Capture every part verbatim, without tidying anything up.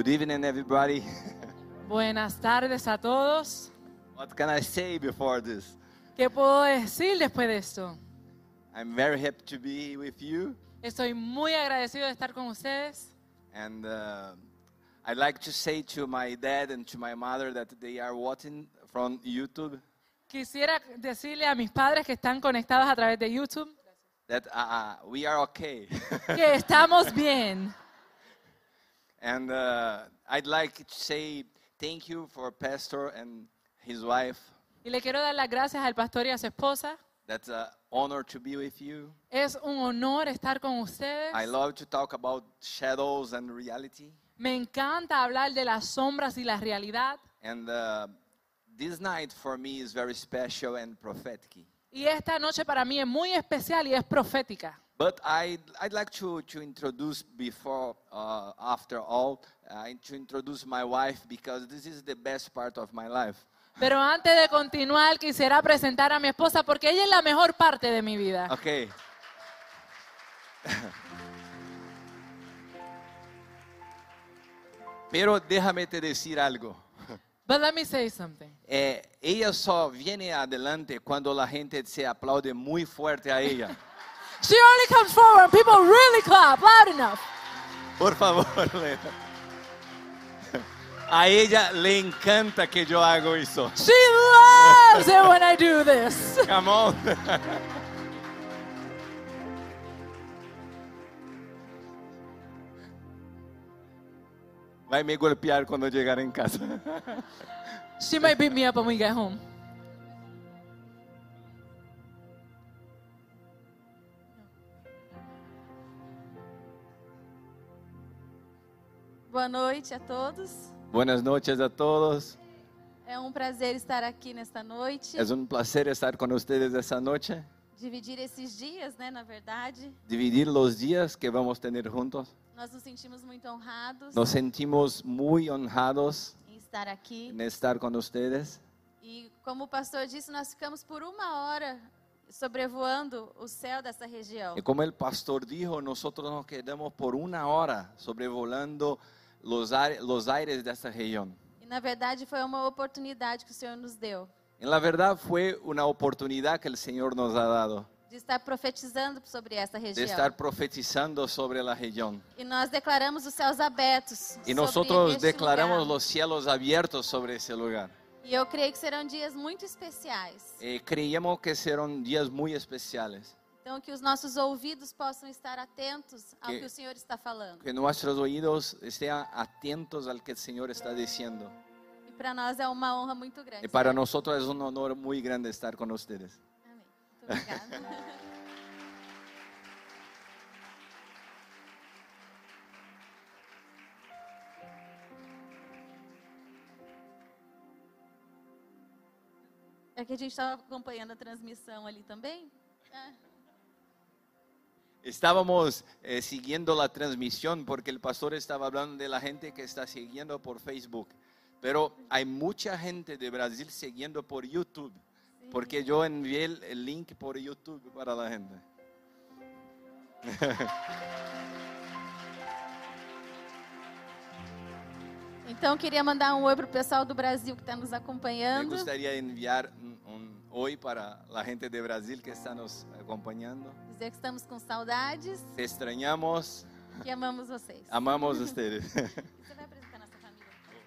Good evening, everybody. Buenas tardes a todos. What can I say before this? ¿Qué puedo decir después de esto? I'm very happy to be with you, Estoy muy agradecido de estar con ustedes. and uh, I'd like to say to my dad and to my mother that they are watching from YouTube Quisiera decirle a mis padres que están conectados a través de YouTube that uh, uh, we are okay. que estamos bien. And uh, I'd like to say thank you for Pastor and his wife. Y le quiero dar las gracias al pastor y a su esposa. That's an honor to be with you. Es un honor estar con ustedes. I love to talk about shadows and reality. Me encanta hablar de las sombras y la realidad. And uh, this night for me is very special and prophetic. Y esta noche para mí es muy especial y es profética. But I'd, I'd like to, to introduce before, uh, after all, uh, to introduce my wife because this is the best part of my life. Pero antes de continuar, quisiera presentar a mi esposa porque ella es la mejor parte de mi vida. Okay. Pero déjame te decir algo. But let me say something. Eh, ella só viene adelante cuando la gente se aplaude muy fuerte a ella. She only comes forward and people really clap loud enough. Por favor, Lena. A ella le encanta que yo hago eso. She loves it when I do this. Come on. Vai me golpear cuando llegar en casa. She might beat me up when we get home. Boa noite a todos. Buenas noches a todos. É um prazer estar aqui nesta noite. Es un placer estar con ustedes esta noche. Dividir esses dias, né, na verdade. Dividir los días que vamos a tener juntos. Nós nos sentimos muito honrados Nos sentimos muy honrados em estar aqui. en estar con ustedes. E como o pastor disse, nós ficamos por uma hora sobrevoando o céu dessa região. Y como el pastor dijo, nosotros nos quedamos por una hora sobrevolando los, aire- los aires de esta región. E na verdade foi uma oportunidade que o Senhor nos deu En la verdad fue una oportunidad que el Señor nos ha dado de estar profetizando sobre esta de região. estar profetizando sobre la región. E nós declaramos os céus abertos Y sobre nosotros este declaramos lugar. los cielos abiertos sobre ese lugar. E eu creio que serão dias muito especiais. Eh, creíamos que serán días muy especiales, Então, que os nossos ouvidos possam estar atentos ao Que- que o Senhor está falando. que nuestros oídos estén atentos al que el Señor está diciendo. E para nós é uma honra muito grande. Y para estar nosotros es un honor muy grande estar con ustedes. aqui. Amém. Muito obrigada. É que a gente estava acompanhando a transmissão ali também. É. Estábamos eh, siguiendo la transmisión porque el pastor estaba hablando de la gente que está siguiendo por Facebook. Pero hay mucha gente de Brasil siguiendo por YouTube. Porque yo envié el, el link por YouTube para la gente. Então, queria mandar um oi para o pessoal do Brasil que está nos Me acompanhando. gustaría enviar un, un hoy para la gente de Brasil que está nos acompañando. Dizer que estamos com saudades, Te extrañamos, que amamos vocês. amamos a ustedes. Você vai apresentar nossa família?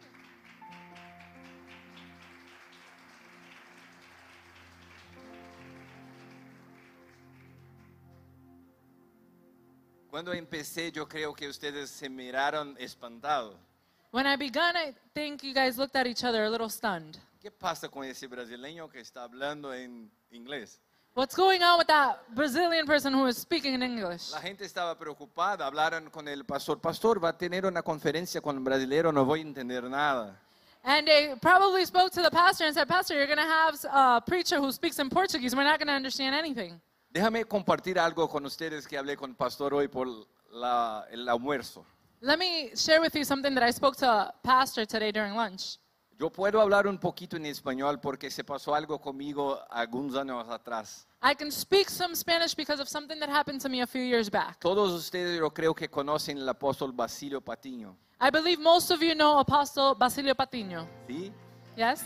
Cuando empecé, yo creo que ustedes se miraron espantados. When I began, I think you guys looked at each other a little stunned. ¿Qué pasa con ese brasileño que está hablando en inglés? What's going on with that Brazilian person who is speaking in English? La gente estaba preocupada, hablaron con el pastor. Pastor, va a tener una conferencia con el brasilero, no voy a entender nada. And they probably spoke to the pastor and said, Pastor, you're going to have a preacher who speaks in Portuguese. We're not going to understand anything. Déjame compartir algo con ustedes que hablé con el pastor hoy por la- el almuerzo. Let me share with you something that I spoke to a pastor today during lunch. Yo puedo hablar un poquito en español porque se pasó algo conmigo algunos años atrás. I can speak some Spanish because of something that happened to me a few years back. Todos ustedes yo creo que conocen al apóstol Basilio Patiño. I believe most of you know Apostle Basilio Patiño. ¿Sí? Yes?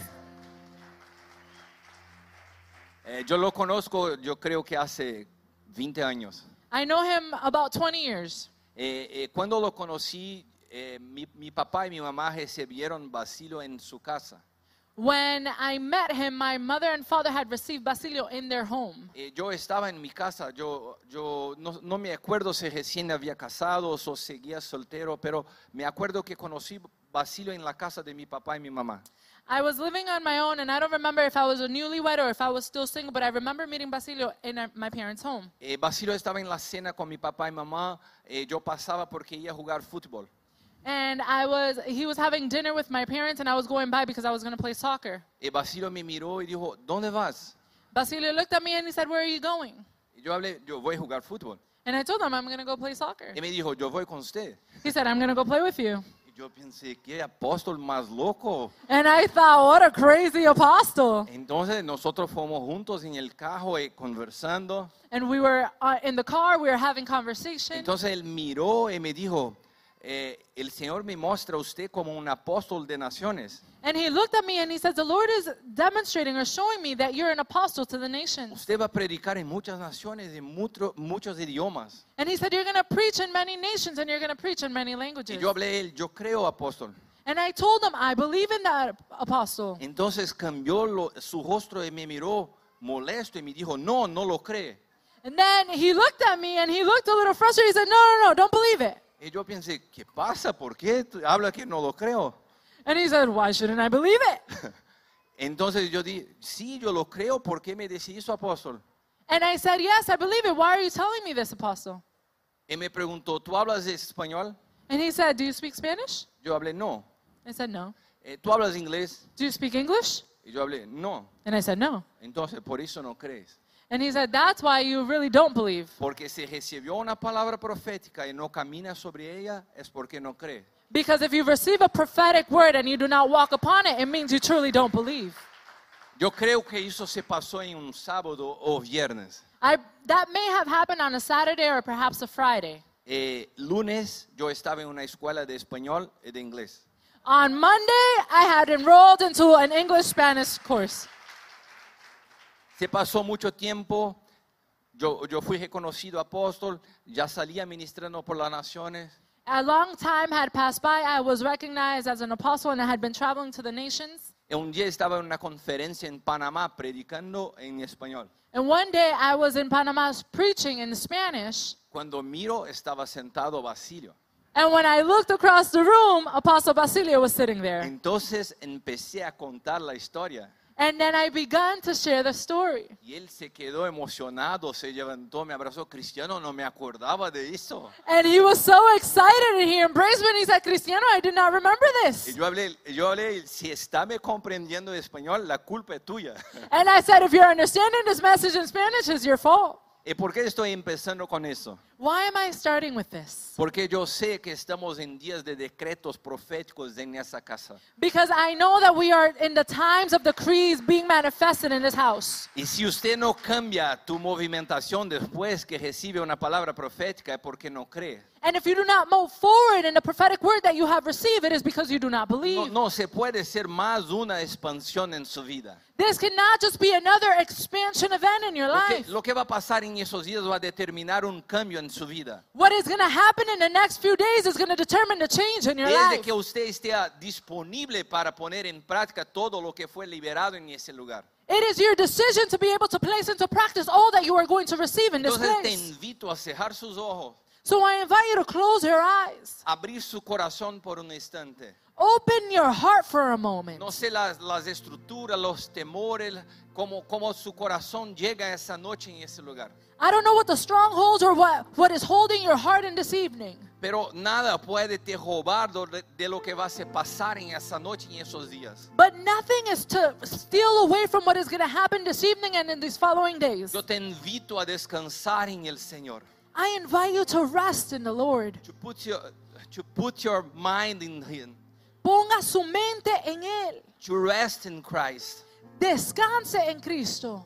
Eh, yo lo conozco, yo creo que hace veinte años. I know him about twenty years. Eh, eh, cuando lo conocí, eh, mi, mi papá y mi mamá recibieron Basilio en su casa. When I met him, my mother and father had received Basilio in their home. Eh, yo estaba en mi casa, yo, yo no, no me acuerdo si recién había casado o seguía soltero, pero me acuerdo que conocí Basilio en la casa de mi papá y mi mamá. I was living on my own, and I don't remember if I was a newlywed or if I was still single, but I remember meeting Basilio in our- my parents' home. Eh, Basilio estaba en la cena con mi papá y mamá, eh, yo pasaba porque iba a jugar fútbol. And I was, he was having dinner with my parents, and I was going by because I was going to play soccer. Eh, Basilio me miró y dijo, ¿dónde vas? Basilio looked at me and he said, "Where are you going?" Y yo hablé, yo voy a jugar fútbol. And I told him, "I'm going to go play soccer." Y me dijo, yo voy con usted. He said, "I'm going to go play with you." Y yo pensé, ¿qué apóstol más loco? And I thought, what a crazy apostle. Entonces nosotros fuimos juntos en el carro eh, conversando. And we were uh, in the car, we were having conversation. Entonces él miró y me dijo, eh, el Señor me muestra a usted como un apóstol de naciones. And he looked at me and he said, "The Lord is demonstrating or showing me that you're an apostle to the nations." Usted va a predicar en muchas naciones, en mucho- muchos idiomas. And he said, "You're going to preach in many nations and you're going to preach in many languages." Y yo hablé a él, yo creo apóstol. And I told him, "I believe in that, apostle." Entonces cambió lo- su rostro y me miró molesto y me dijo, no, no lo cree. And then he looked at me and he looked a little frustrated. He said, "No, no, no, don't believe it." Y yo pensé, ¿qué pasa? ¿Por qué tú habla que no lo creo? And he said, "Why shouldn't I believe it?" Entonces yo dije, sí, yo lo creo, ¿por qué me decís eso, apóstol? And I said, "Yes, I believe it. Why are you telling me this, apostle?" Y me preguntó, ¿tú hablas español? And he said, "Do you speak Spanish?" Yo hablé, no. I said, "No." Eh, ¿Tú hablas inglés? "Do you speak English?" Y yo hablé, no. And I said, "No." Entonces, por eso no crees. And he said, "That's why you really don't believe. Porque si recibió una palabra profética y no camina sobre ella, es porque no cree. Because if you receive a prophetic word and you do not walk upon it, it means you truly don't believe." Yo creo que eso se pasó en un sábado o viernes. I, that may have happened on a Saturday or perhaps a Friday. Eh, lunes yo estaba en una escuela de español y de inglés. On Monday, I had enrolled into an English-Spanish course. Se pasó mucho tiempo, yo, yo fui reconocido apóstol, ya salía ministrando por las naciones. A long time had passed by. I was recognized as an apostle and I had been traveling to the nations. Y un día estaba en una conferencia en Panamá predicando en español. And one day I was in Panama preaching in Spanish. Cuando miro estaba sentado Basilio. And when I looked across the room, Apostle Basilio was sitting there. Entonces empecé a contar la historia. And then I began to share the story. Y él se quedó emocionado, se levantó, me abrazó. Cristiano, no me acordaba de eso. And he was so excited and he embraced me and he said, "Cristiano, I did not remember Y this." yo hablé, yo hablé, si está me comprendiendo español, la culpa es tuya. And I said, "If you're understanding this message in Spanish, it's your fault." ¿Y por qué estoy empezando con eso? Why am I starting with this? Porque yo sé que estamos en días de decretos proféticos en esa casa. Because I know that we are in the times of decrees being manifested in this house. Y si usted no cambia tu movimentación después que recibe una palabra profética es porque no cree. And if you do not move forward in the prophetic word that you have received, it is because you do not No, believe. no se puede ser más una expansión en su vida. This cannot just be another expansion event in your Lo que, life. lo que va a pasar en esos días va a determinar un cambio en su vida. What is going to happen in the next few days is going to determine the change in your Desde life. que usted esté disponible para poner en práctica todo lo que fue liberado en ese lugar. It is your decision to be able to place into practice all that you are going to receive in this Entonces te place. invito a cerrar sus ojos, So I invite you to close your eyes. abrir su corazón por un instante. Open your heart for a moment. No sé las, las estructuras, los temores, cómo, cómo su corazón llega esa noche en ese lugar. I don't know what the strongholds or what, what is holding your heart in this evening. Pero nada puede te robar de, de lo que va a pasar en esa noche y en esos días. But nothing is to steal away from what is going to happen this evening and in these following days. Yo te invito a descansar en el Señor. I invite you to rest in the Lord. To put your, to put your mind in Him. Ponga su mente en Él. To rest in Christ. Descanse en Cristo.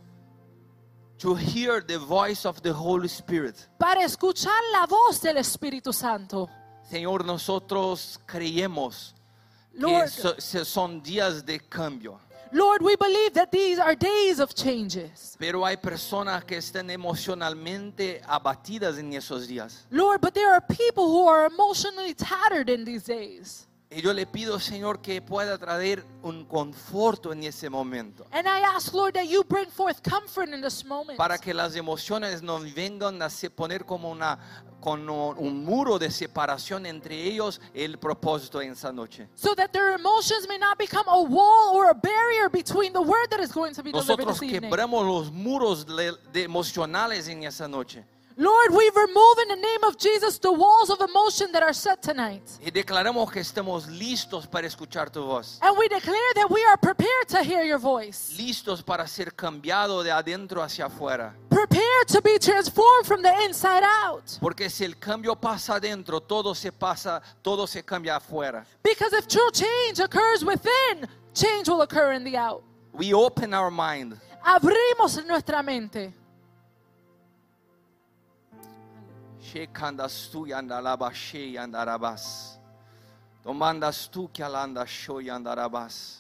To hear the voice of the Holy Spirit. Para escuchar la voz del Espíritu Santo. Señor, nosotros creemos que Lord, so- se- son días de cambio. Lord, we believe that these are days of changes. Pero hay personas que están emocionalmente abatidas en esos días. Lord, but there are people who are emotionally tattered in these days. Y yo le pido, Señor, que pueda traer un conforto en ese momento. And I ask, Lord, that you bring forth comfort in this moment. Para que las emociones no vengan a se poner como una, con un, un muro de separación entre ellos el propósito en esa noche. So that their emotions may not become a wall or a barrier between the word that is going to be delivered Nosotros this evening. quebramos los muros de, de emocionales en esa noche. Lord, we remove in the name of Jesus the walls of emotion that are set tonight. Y declaramos que estamos listos para escuchar tu voz. And we declare that we are prepared to hear your voice. Listos para ser cambiado de adentro hacia afuera. Prepared to be transformed from the inside out. Porque si el cambio pasa adentro, todo se pasa, todo se cambia afuera. Because if true change occurs within, change will occur in the out. We open our mind. Abrimos nuestra mente. Shekandas tu yandalaba she yandarabas. Tomandas tu que alanda sho yandarabas.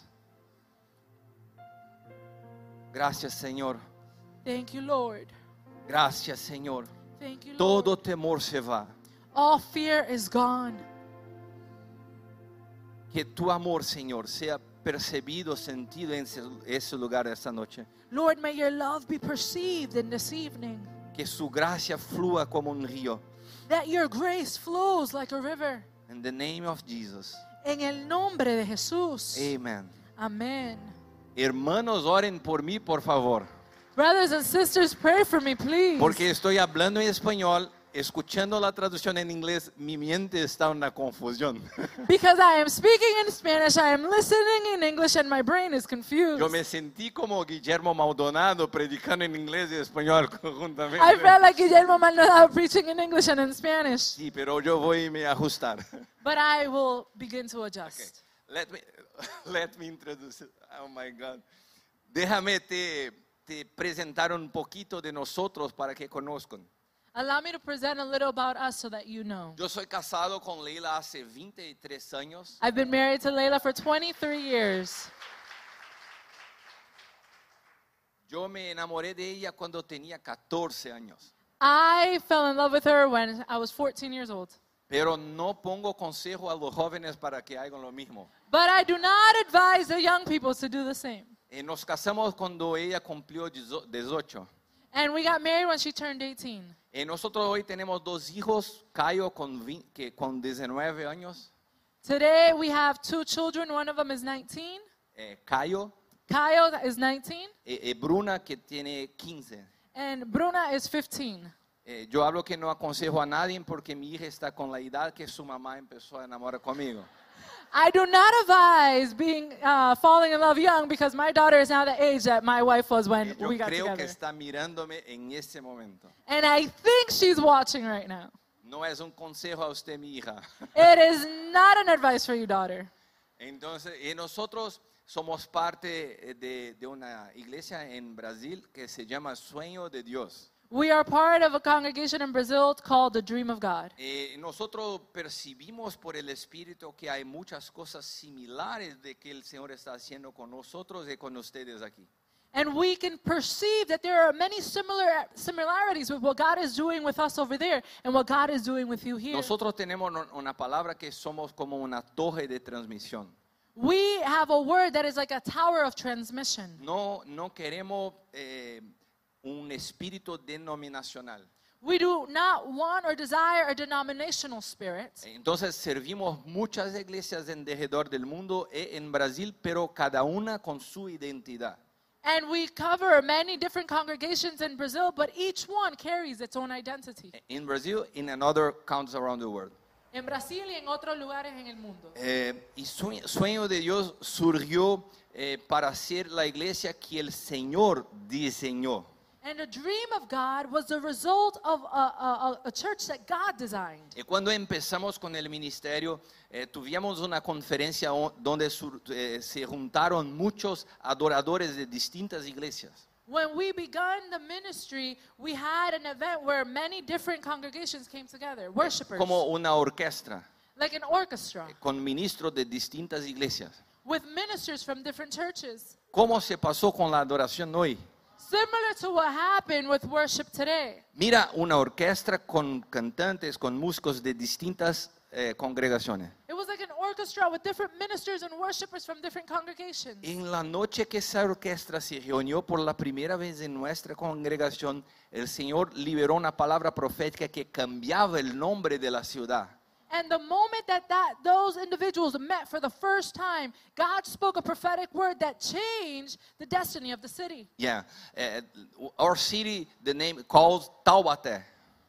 Gracias, Señor. Thank you, Lord. Gracias, Señor. Thank you, Lord. Todo temor se va. All fear is gone. Que tu amor, Señor, sea percibido, sentido en ese- ese lugar esta noche. Lord, may your love be perceived in this evening. Que su gracia flúa como un río. That your grace flows like a river. In the name of Jesus. En el nombre de Jesús. Amen. Amén. Hermanos, oren por mí, por favor. Brothers and sisters, pray for me, please. Porque estoy hablando en español, escuchando la traducción en inglés, mi mente está en una confusión. Because I am speaking in Spanish, I am listening in English, and my brain is confused. Yo me sentí como Guillermo Maldonado predicando en inglés y español conjuntamente. I felt like Guillermo Maldonado preaching in English and in Spanish. Sí, pero yo voy a me ajustar. But I will begin to adjust. Okay. Let me, let me introduce it. Oh my God. Déjame te, te presentar un poquito de nosotros para que conozcan. Allow me to present a little about us so that you know. Yo soy casado con Leila hace veintitrés años. I've been married to Layla for twenty-three years. Yo me enamoré de ella cuando tenía catorce años. I fell in love with her when I was fourteen years old. Pero no pongo consejo a los jóvenes para que hagan lo mismo. But I do not advise the young people to do the same. Eh, nos casamos cuando ella cumplió dieciocho. And we got married when she turned eighteen. Eh, nosotros hoy tenemos dos hijos, Cayo con, vi- que, con diecinueve años, Today we have two children. One of them is nineteen. eh, Cayo, Kyle is nineteen. eh, eh, Bruna que tiene quince. And Bruna is fifteen. Eh, yo hablo que no aconsejo a nadie porque mi hija está con la edad que su mamá empezó a enamorar conmigo. I do not advise being uh, falling in love young because my daughter is now the age that my wife was when Eh, yo we got creo que together. está mirándome en este momento. And I think she's watching right now. No es un consejo a usted, mi hija. It is not an advice for you, daughter. Entonces, y nosotros somos parte eh, de, de una iglesia en Brasil que se llama Sueño de Dios. We are part of a congregation in Brazil called the Dream of God. Eh, nosotros percibimos por el Espíritu que hay muchas cosas similares de que el Señor está haciendo con nosotros y con ustedes aquí. And we can perceive that there are many similar similarities with what God is doing with us over there and what God is doing with you here. Nosotros tenemos un- una palabra que somos como una torre de transmisión. We have a word that is like a tower of transmission. No, no queremos eh, un espíritu denominacional. We do not want or desire a denominational spirit. Entonces servimos muchas iglesias en derredor del mundo y en Brasil, pero cada una con su identidad. And we cover many different congregations in Brazil, but each one carries its own identity. In Brazil, in another countries around the world. En Brasil y en otros lugares en el mundo. Eh, y Sue- Sueño de Dios surgió eh, para ser la iglesia que el Señor diseñó. And the dream of God was the result of a, a, a church that God designed. Y cuando empezamos con el ministerio, eh, tuvimos una conferencia o- donde sur- eh, se juntaron muchos adoradores de distintas iglesias. When we began the ministry, we had an event where many different congregations came together, worshipers, Como una orquesta. like an orchestra, con ministros de distintas iglesias. with ministers from different churches. ¿Cómo se pasó con la adoración hoy? Similar to what happened with worship today. Mira una orquesta con cantantes, con músicos de distintas eh, congregaciones. It was like an orchestra with different ministers and worshipers from different congregations. En la noche que esa orquesta se reunió por la primera vez en nuestra congregación, el Señor liberó una palabra profética que cambiaba el nombre de la ciudad. And the moment that, that those individuals met for the first time, God spoke a prophetic word that changed the destiny of the city. Yeah, uh, our city, the name calls Taubaté.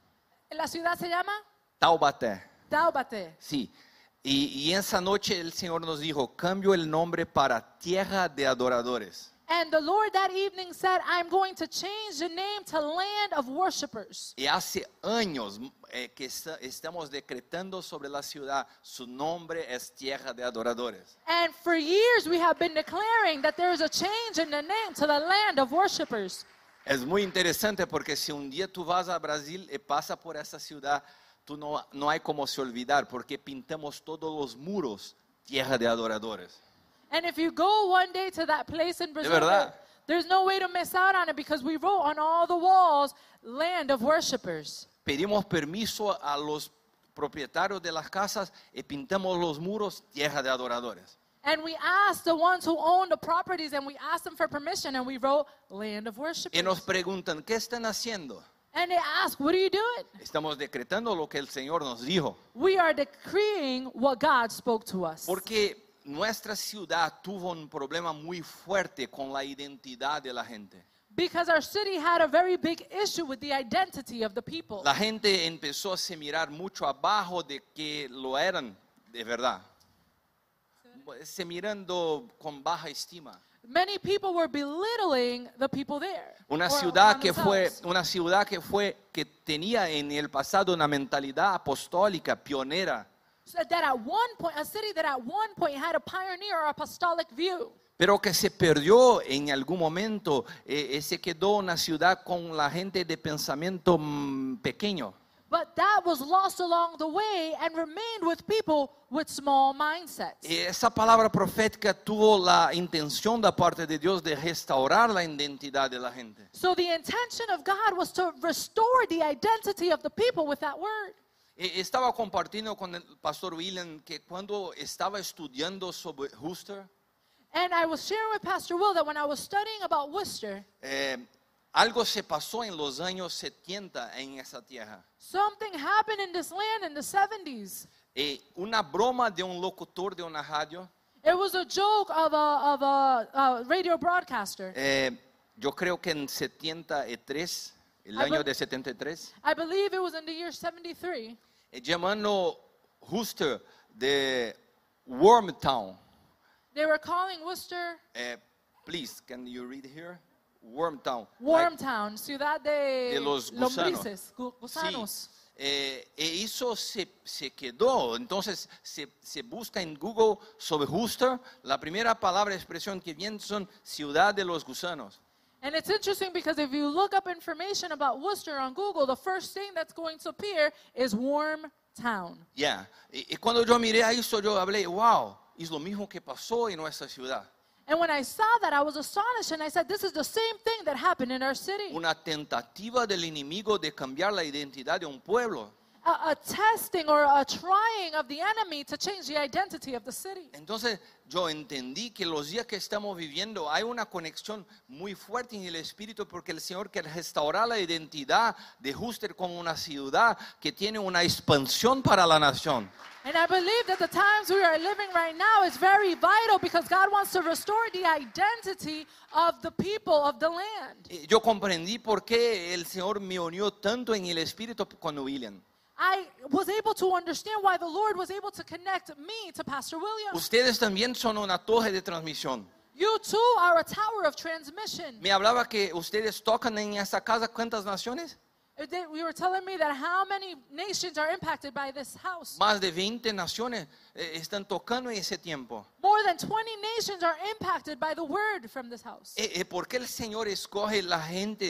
La ciudad se llama Taubaté. Taubaté. Sí. Y, y esa noche el Señor nos dijo, cambio el nombre para Tierra de Adoradores. And the Lord that evening said, I'm going to change the name to Land of Worshipers. Y hace años eh, que está, estamos decretando sobre la ciudad, su nombre es Tierra de Adoradores. And for years we have been declaring that there is a change in the name to the Land of Worshipers. Es muy interesante porque si un día tú vas a Brasil y pasas por esa ciudad, tú no, no hay como se olvidar porque pintamos todos los muros Tierra de Adoradores. And if you go one day to that place in Brazil, verdad. there's no way to miss out on it because we wrote on all the walls, Land of Worshipers. Pedimos permiso a los propietarios de las casas y pintamos los muros Tierra de Adoradores. And we asked the ones who own the properties and we asked them for permission and we wrote Land of Worshipers. Y nos preguntan, ¿qué están haciendo? And they asked, what are you doing? Estamos decretando lo que el Señor nos dijo. We are decreeing what God spoke to us. Porque nuestra ciudad tuvo un problema muy fuerte con la identidad de la gente. Because our city had a very big issue with the identity of the people. La gente empezó a se mirar mucho abajo de que lo eran de verdad. Se mirando con baja estima. Many people were belittling the people there. Una or ciudad on que fue, themselves. una ciudad que fue, que tenía en el pasado una mentalidad apostólica, pionera. So that at one point, a city that at one point had a pioneer or apostolic view. Pero que se perdió en algún momento, eh, se quedó una ciudad con la gente de pensamiento mm, pequeño. But that was lost along the way and remained with people with small mindsets. Y esa palabra profética tuvo la intención de parte de Dios de restaurar la identidad de la gente. So the intention of God was to restore the identity of the people with that word. Y estaba compartiendo con el pastor William que cuando estaba estudiando sobre Worcester, And I was sharing with Pastor Will that when I was studying about Worcester, eh, algo se pasó en los años setenta en esa tierra. something happened in this land in the seventies. Eh, una broma de un locutor de una radio, It was a joke of a, of a, a radio broadcaster. eh, yo creo que en setenta y tres, el I año be- de setenta y tres, I believe it was in the year seventy-three. eh, llamando Worcester de Wormtown. They were calling Worcester Eh, please, can you read here? Wormtown. Wormtown, ciudad de, De los gusanos. lombrices, gu- gusanos. Sí. Eh, e eso se, se quedó. Entonces se, se busca en Google sobre Worcester. La primera palabra, expresión que viene son ciudad de los gusanos. And it's interesting because if you look up information about Worcester on Google, the first thing that's going to appear is Wormtown. Ya. Y, y cuando yo miré a eso, yo hablé, wow, es lo mismo que pasó en nuestra ciudad. And when I saw that, I was astonished and I said, this is the same thing that happened in our city. Una tentativa del enemigo de cambiar la identidad de un pueblo. A, a testing or a trying of the enemy to change the identity of the city. Entonces yo entendí que los días que estamos viviendo hay una conexión muy fuerte en el espíritu porque el Señor quiere restaurar la identidad de Worcester como una ciudad que tiene una expansión para la nación. And I believe that the times we are living right now is very vital because God wants to restore the identity of the people of the land. Y yo comprendí por qué el Señor me unió tanto en el espíritu con William. I was able to understand why the Lord was able to connect me to Pastor William. Ustedes también son una torre de transmisión. You too are a tower of transmission. Me hablaba que ustedes tocan en esta casa ¿cuántas naciones? They- We were telling me that how many nations are impacted by this house. Más de veinte naciones eh, están tocando en ese tiempo. More than twenty nations are impacted by the word from this house. Eh, eh, ¿Por qué el Señor escoge la gente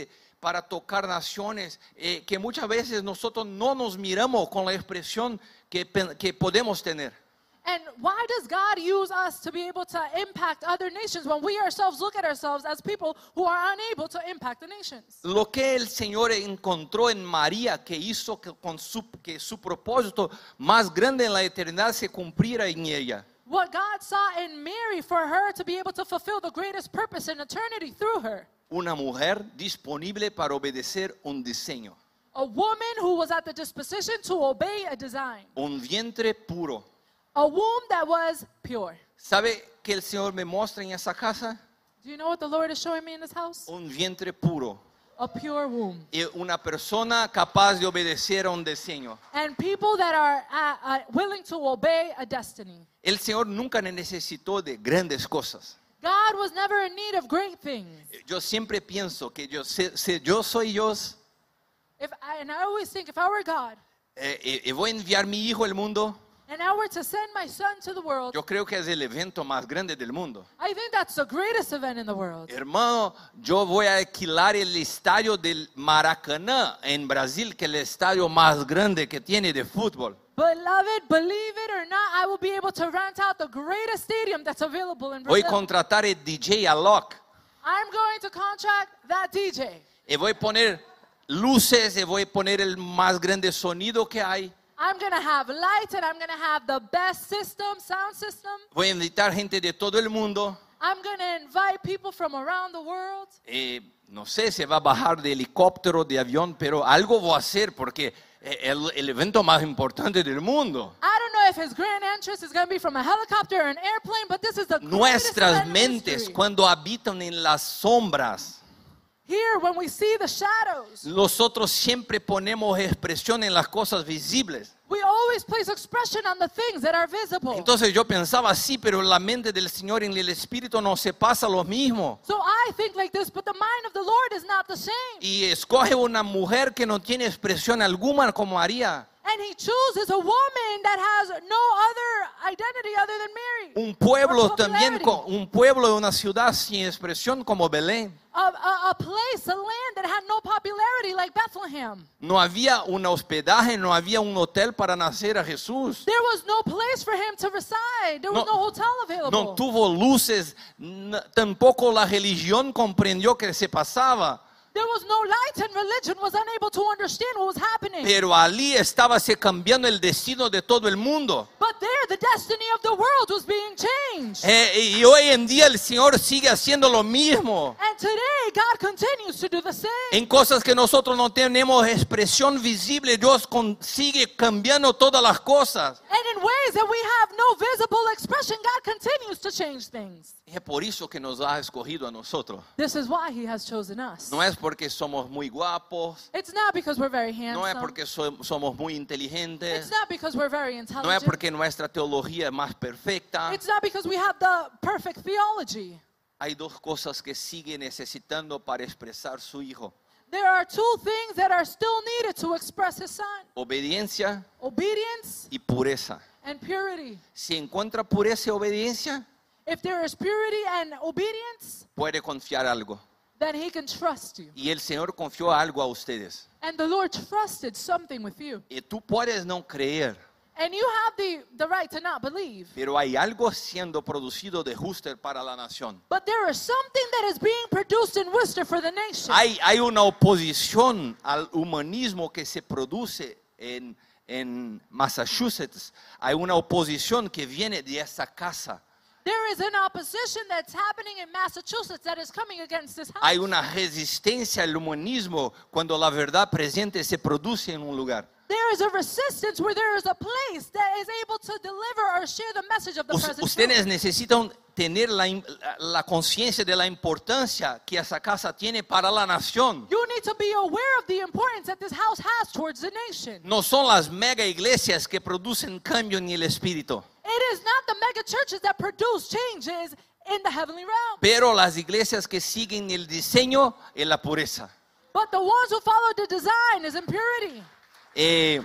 para tocar naciones, eh, que muchas veces nosotros no nos miramos con la expresión que, que podemos tener. And why does God use us to be able to impact other nations when we ourselves look at ourselves as people who are unable to impact the nations? Lo que el Señor encontró en María, que hizo que, con su, que su propósito más grande en la eternidad se cumpliera en ella. What God saw in Mary for her to be able to fulfill the greatest purpose in eternity through her. Una mujer disponible para obedecer un diseño. A woman who was at the disposition to obey a design. Un vientre puro. A womb that was pure. ¿Sabe qué el Señor me muestra en esa casa? Do you know what the Lord is showing me in this house? Un vientre puro. A pure womb. Y una persona capaz de obedecer a un diseño. And people that are uh, uh, willing to obey a destiny. El Señor nunca necesitó de grandes cosas. God was never in need of great things. Yo siempre pienso que yo, si, si yo soy Dios, If I, and I always think, if I were God, eh, eh, eh, voy a enviar mi hijo al mundo, and I were to send my son to the world, yo creo que es el evento más grande del mundo. I think that's the greatest event in the world. Hermano, yo voy a alquilar el estadio del Maracaná en Brasil, que es el estadio más grande que tiene de fútbol. Beloved, believe it or not, I will be able to rent out the greatest stadium that's available in Voy a Brazil. contratar el D J Alok. I'm going to contract that D J. Y voy a poner luces, y voy a poner el más grande sonido que hay. I'm going to have lights and I'm going to have the best system, sound system. Voy a invitar gente de todo el mundo. I'm going to invite people from around the world. Eh, no sé si va a bajar de helicóptero, de avión, pero algo voy a hacer porque es el, el evento más importante del mundo. I don't know if his grand entrance is going to be from a helicopter or an airplane, but this is the greatest Nuestras event in mentes, history. cuando habitan en las sombras, Here, when we see the shadows, nosotros siempre ponemos expresión en las cosas visibles. we always place expression on the things that are visible. Entonces yo pensaba así, pero la mente del Señor en el Espíritu no se pasa lo mismo. So I think like this, but the mind of the Lord is not the same. Y escoge una mujer que no tiene expresión alguna como María. And he chooses a woman that has no other identity other than Mary. Un pueblo Or también, popularity. con- un pueblo de una ciudad sin expresión como Belén. A, a, a place, a land that had no popularity like Bethlehem. No había un hospedaje, no había un hotel para nacer a Jesús. There was no place for him to reside. There was No- no hotel available. No tuvo luces, n- tampoco la religión comprendió que se pasaba. There was no light and religion was unable to understand what was happening. Pero allí estaba se cambiando el destino de todo el mundo. But there, the destiny of the world was being changed. Eh, y hoy en día el Señor sigue haciendo lo mismo. And today, God continues to do the same. En cosas que nosotros no tenemos expresión visible, Dios con- sigue cambiando todas las cosas. And in ways that we have no visible expression, God continues to change things. Es por eso que nos ha escogido a nosotros. This is why He has chosen us. No es porque somos muy guapos, It's not because we're very no es handsome. porque so- somos muy It's inteligentes, not because we're very no es intelligent. porque nuestra teología es más perfecta. It's not because we have the perfect theology. Hay dos cosas que sigue necesitando para expresar su hijo: There are two things that are still needed to express His Son. obediencia Obedience y pureza. and purity. Si encuentra pureza y obediencia, If there is purity and obedience, puede confiar algo. then He can trust you. Y el Señor confió algo a ustedes. And the Lord trusted something with you. Y tú puedes no creer, And you have the, the right to not believe. pero hay algo siendo producido de Worcester para la nación. But there is something that is being produced in Worcester for the nation. Hay, hay una oposición al humanismo que se produce en, en Massachusetts. Hay una oposición que viene de esa casa. There is an opposition that's happening in Massachusetts that is coming against this house. Hay una resistencia al humanismo cuando la verdad presente se produce en un lugar. There is a resistance where there is a place that is able to deliver or share the message of the Us- present Ustedes truth. necesitan tener la, im- la conciencia de la importancia que esa casa tiene para la nación. You need to be aware of the importance that this house has towards the nation. No son las mega iglesias que producen cambio en el espíritu, It is not the mega churches that produce changes in the heavenly realm, pero las iglesias que siguen el diseño y la pureza. but the ones who follow the design is in purity. Eh,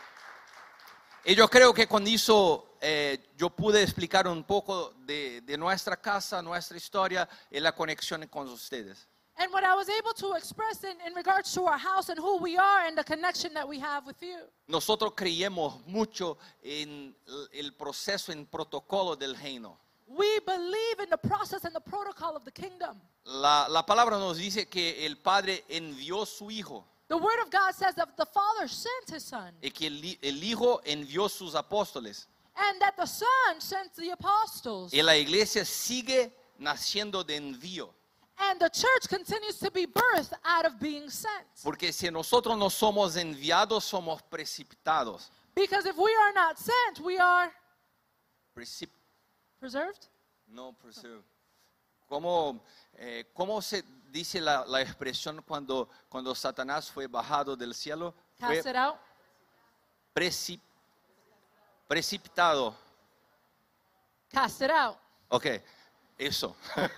y yo creo que con eso eh, yo pude explicar un poco de, de nuestra casa, nuestra historia y la conexión con ustedes. And what I was able to express in, in regards to our house and who we are and the connection that we have with you. Nosotros creemos mucho en el proceso, en protocolo del reino. We believe in the process and the protocol of the kingdom. La, la palabra nos dice que el Padre envió su Hijo The word of God says that the Father sent his Son y que el, el Hijo envió sus apóstoles. and that the Son sent the apostles. Y la iglesia sigue naciendo de envío. And the church continues to be birthed out of being sent. Porque si nosotros no somos enviados, somos precipitados. Because if we are not sent, we are Precip- preserved. no, preserve. ¿Cómo, eh, ¿Cómo se dice la, la expresión cuando, cuando Satanás fue bajado del cielo? Fue Cast it out. precip- precipitado. Cast it out. Ok, eso.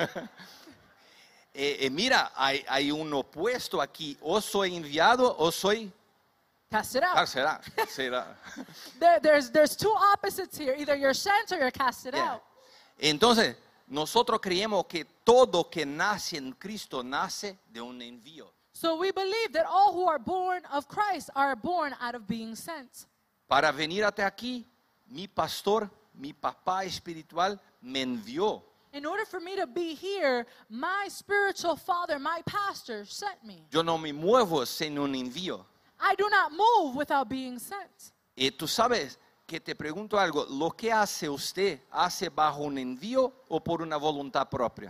eh, eh, mira, hay, hay un opuesto aquí. O soy enviado o soy... Cast it Ah, out. será, será. There, there's, there's two opposites here. Either you're sent or you're casted Yeah. out. Entonces, nosotros creemos que todo que nace en Cristo nace de un envío. So we believe that all who are born of Christ are born out of being sent. Para venir hasta aquí, mi pastor, mi papá espiritual me envió. In order for me to be here, my spiritual father, my pastor, sent me. Yo no me muevo sin un envío. I do not move without being sent. Y tú sabes que te pregunto algo, ¿lo que hace usted hace bajo un envío o por una voluntad propia?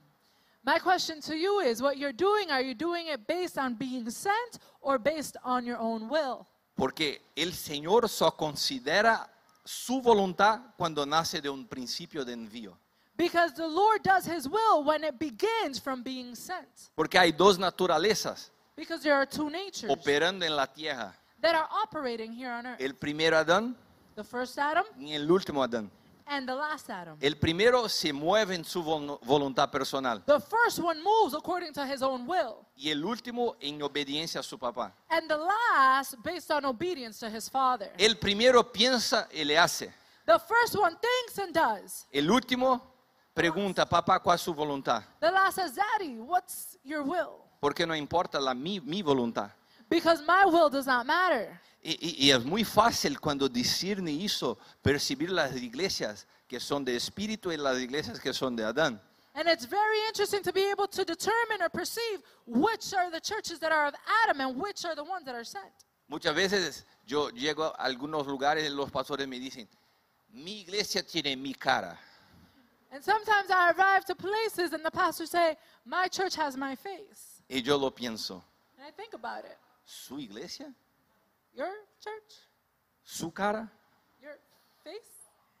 My question to you is, what you're doing, are you doing it based on being sent or based on your own will? Porque el Señor solo considera su voluntad cuando nace de un principio de envío. Because the Lord does his will when it begins from being sent. Porque hay dos naturalezas Because there are two natures operando en la tierra. that are operating here on earth. El primero Adán The first Adam y el último Adán. and the last Adam. El primero se mueve en su vol- voluntad personal The first one moves according to his own will. y el último en obediencia a su papá. And the last based on obedience to his father. El primero piensa y le hace. The first one thinks and does. El último pregunta, papá, ¿cuál es su voluntad? The last says, Daddy, what's your will? Porque no importa la, mi, mi voluntad. Because my will does not matter. Y, y- y es muy fácil cuando discierne eso, percibir las iglesias que son de espíritu y las iglesias que son de Adán. And it's very interesting to be able to determine or perceive which are the churches that are of Adam and which are the ones that are sent. Muchas veces yo llego a algunos lugares y los pastores me dicen, mi iglesia tiene mi cara. And sometimes I arrive to places and the pastors say, my church has my face. Y yo lo pienso, And I think about it. ¿su iglesia? Your church? ¿Su cara? Your face?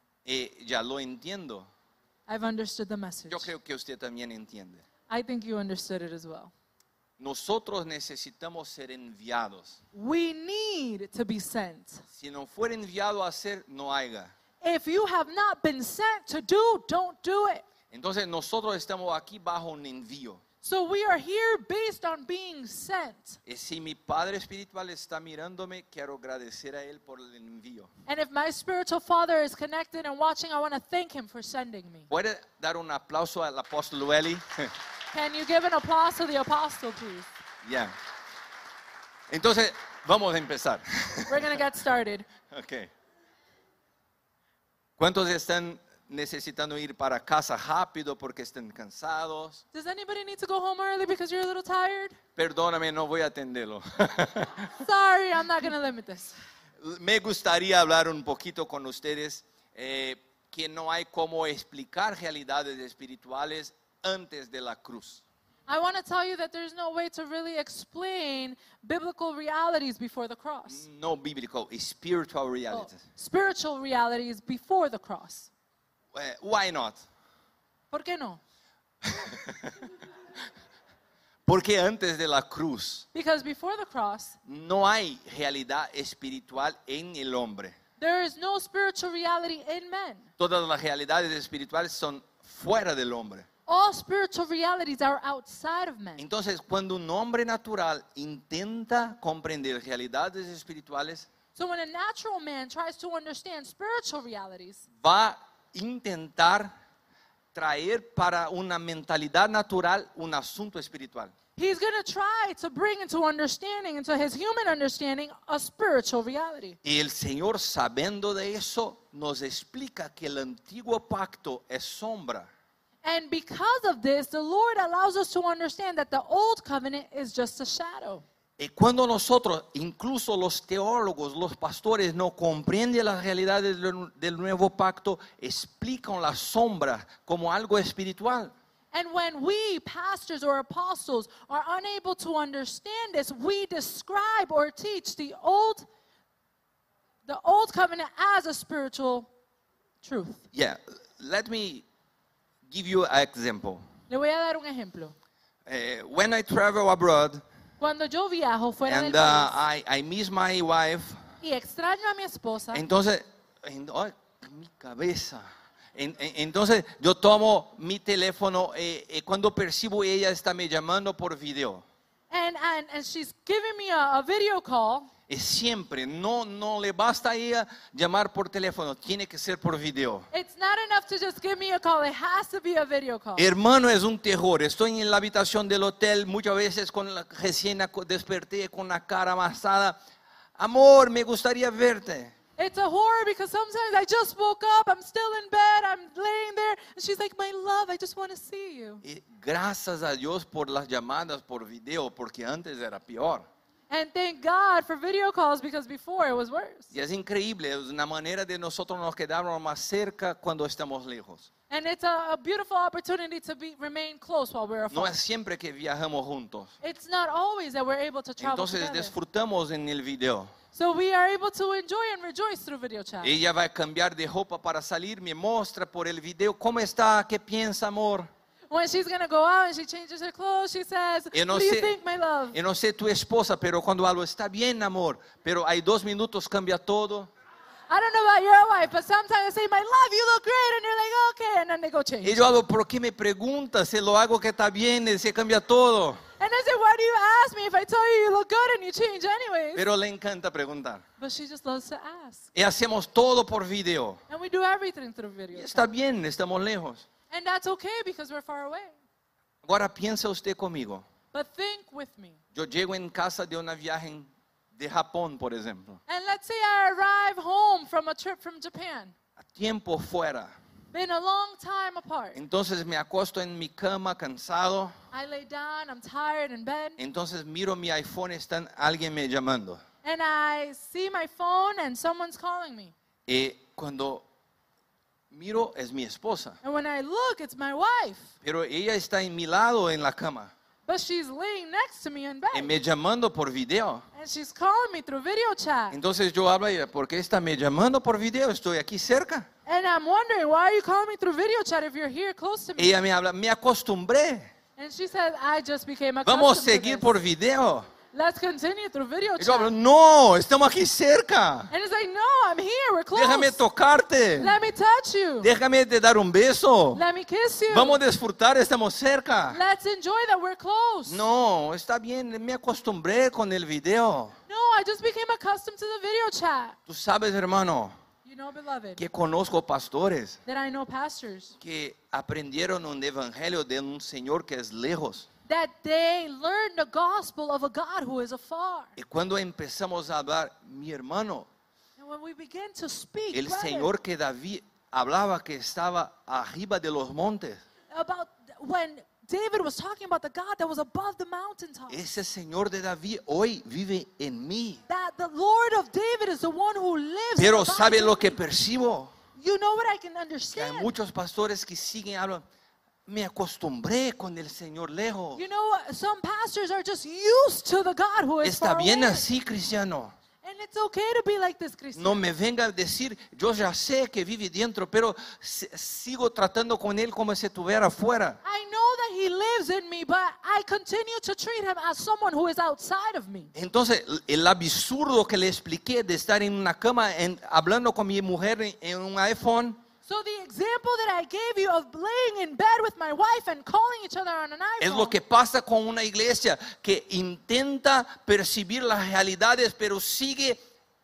Y ya lo entiendo. I've understood the message. Yo creo que usted también entiende. I think you understood it as well. Nosotros necesitamos ser enviados. We need to be sent. Si no fuera enviado a hacer, no haya. If you have not been sent to do, don't do it. Entonces nosotros estamos aquí bajo un envío. So we are here based on being sent. Y si mi Padre Espiritual está mirándome, quiero agradecer a Él por el envío. And if my spiritual father is connected and watching, I want to thank him for sending me. ¿Puede dar un aplauso al apóstol Welly? Can you give an applause to the apostle, please? Ya. Entonces, vamos a empezar. We're going to get started. Ok. ¿Cuántos están necesitando ir para casa rápido porque están cansados? Does anybody need to go home early because you're a little tired? Perdóname, no voy a atenderlo. Sorry, I'm not going to limit this. Me gustaría hablar un poquito con ustedes eh, que no hay cómo explicar realidades espirituales antes de la cruz. I want to tell you that there's no way to really explain biblical realities before the cross. No bíblico, spiritual Well, realities. spiritual realities before the cross. Eh, why not? ¿Por qué no? Porque antes de la cruz Because before the cross, no hay realidad espiritual en el hombre. there is no spiritual reality in men. Todas las realidades espirituales son fuera del hombre. All spiritual realities are outside of men. Entonces, cuando un hombre natural intenta comprender realidades espirituales, So when a natural man tries to understand spiritual realities, va a intentar traer para una mentalidad natural un asunto espiritual. He's going to try to bring into understanding, into his human understanding, a spiritual reality. Y el Señor, sabiendo de eso, nos explica que el antiguo pacto es sombra. And because of this, the Lord allows us to understand that the old covenant is just a shadow. Y cuando nosotros, incluso los teólogos, los pastores, no comprenden las realidades del, del nuevo pacto, explican la sombra como algo espiritual. And when we, pastors or apostles, are unable to understand this, we describe or teach the old, the old covenant as a spiritual truth. Yeah, let me give you an example. Le voy a dar un ejemplo. Uh, when I travel abroad Cuando yo viajo fuera and del uh, país I, I miss my wife, y extraño a mi esposa, entonces, en, ay, mi cabeza. En, en, entonces yo tomo mi teléfono y, y cuando percibo ella está me llamando por video. and, and, and she's giving me a, a video call, Y siempre, no, no le basta a ella llamar por teléfono, tiene que ser por video. it's not enough to just give me a call. It has to be a video call. Hermano, es un terror. Estoy en la habitación del hotel, muchas veces con la, recién aco- desperté con la cara amasada. Amor, me gustaría verte. It's a horror because sometimes I just woke up, I'm still in bed, I'm laying there, and she's like, my love, I just want to see you. Y gracias a Dios por las llamadas por video, porque antes era peor. And thank God for video calls because before it was worse. Y es increíble, es una manera de nosotros nos quedarnos más cerca cuando estamos lejos. And it's a, a beautiful opportunity to be, remain close while we're No afar. es siempre que viajamos juntos. It's not always that we're able to travel Entonces together. disfrutamos en el video. So we are able to enjoy and rejoice through video chat. Ella va a cambiar de ropa para salir, me muestra por el video cómo está, qué piensa, amor. When she's going to go out and she changes her clothes, she says, Yo no what do you sé- think, my love? Yo no sé tu esposa, pero cuando algo está bien, amor, pero hay dos minutos cambia todo. I don't know about your wife, but sometimes I say, my love, you look great. And you're like, okay. And then they go change. Y yo hago, ¿por qué me preguntas? Si lo hago que está bien, y se cambia todo. And I say, why do you ask me if I tell you you look good and you change anyways? Pero le encanta preguntar. But she just loves to ask. Y hacemos todo por video. And we do everything through video Y chat. está bien, estamos lejos. And that's okay because we're far away. Ahora piensa usted conmigo. But think with me. Yo llego en casa de una viaje de Japón, por ejemplo. And let's say I arrive home from a trip from Japan. A tiempo fuera. Been a long time apart. Entonces me acuesto en mi cama cansado. I lay down, I'm tired in bed. Entonces miro mi iPhone, está alguien me llamando. And I see my phone and someone's calling me. Y cuando miro es mi esposa. And when I look, it's my wife. Pero ella está en mi lado en la cama. But she's laying next to me in Y bed. me llamando por video. And she's calling me through video chat. Entonces yo hablo y ella, ¿por qué está me llamando por video? Estoy aquí cerca. And I'm wondering, why are you calling me through video chat if you're here close to me? Ella me habla, me acostumbré. And she said, I just became Vamos a accustomed to seguir this. por video. Let's continue through video Y yo hablo, chat. no, estamos aquí cerca. And it's like, no, I'm here, we're close. Déjame tocarte. Let me touch you. Déjame te dar un beso. Let me kiss you. Vamos a disfrutar, estamos cerca. Let's enjoy that we're close. No, está bien, me acostumbré con el video. No, I just became accustomed to the video chat. Tú sabes, hermano, You know, beloved, que conozco pastores that I know pastors, que aprendieron un evangelio de un Señor que es lejos. that they learned the gospel of a God who is afar. Y cuando empezamos a hablar, mi hermano, And when we begin to speak, el brother, Señor que David hablaba que estaba arriba de los montes, about when David was talking about the God that was above the mountaintop, ese Señor de David hoy vive en mí. that the Lord of David is the one who lives. Pero above ¿sabe him. lo que percibo? You know what I can Que hay understand? muchos pastores que siguen hablando. Me acostumbré con el Señor lejos. You know what? Some pastors are just used to the God who is Está far bien away. así, cristiano. And it's okay to be like this, Christian. No me venga a decir, yo ya sé que vive dentro, pero si- sigo tratando con él como si estuviera afuera. I know that he lives in me, but I continue to treat him as someone who is outside of me. Entonces, el absurdo que le expliqué de estar en una cama en- hablando con mi mujer en, en un iPhone, So the example that I gave you of laying in bed with my wife and calling each other on an es iPhone, lo que pasa con una iglesia que intenta percibir las realidades, pero sigue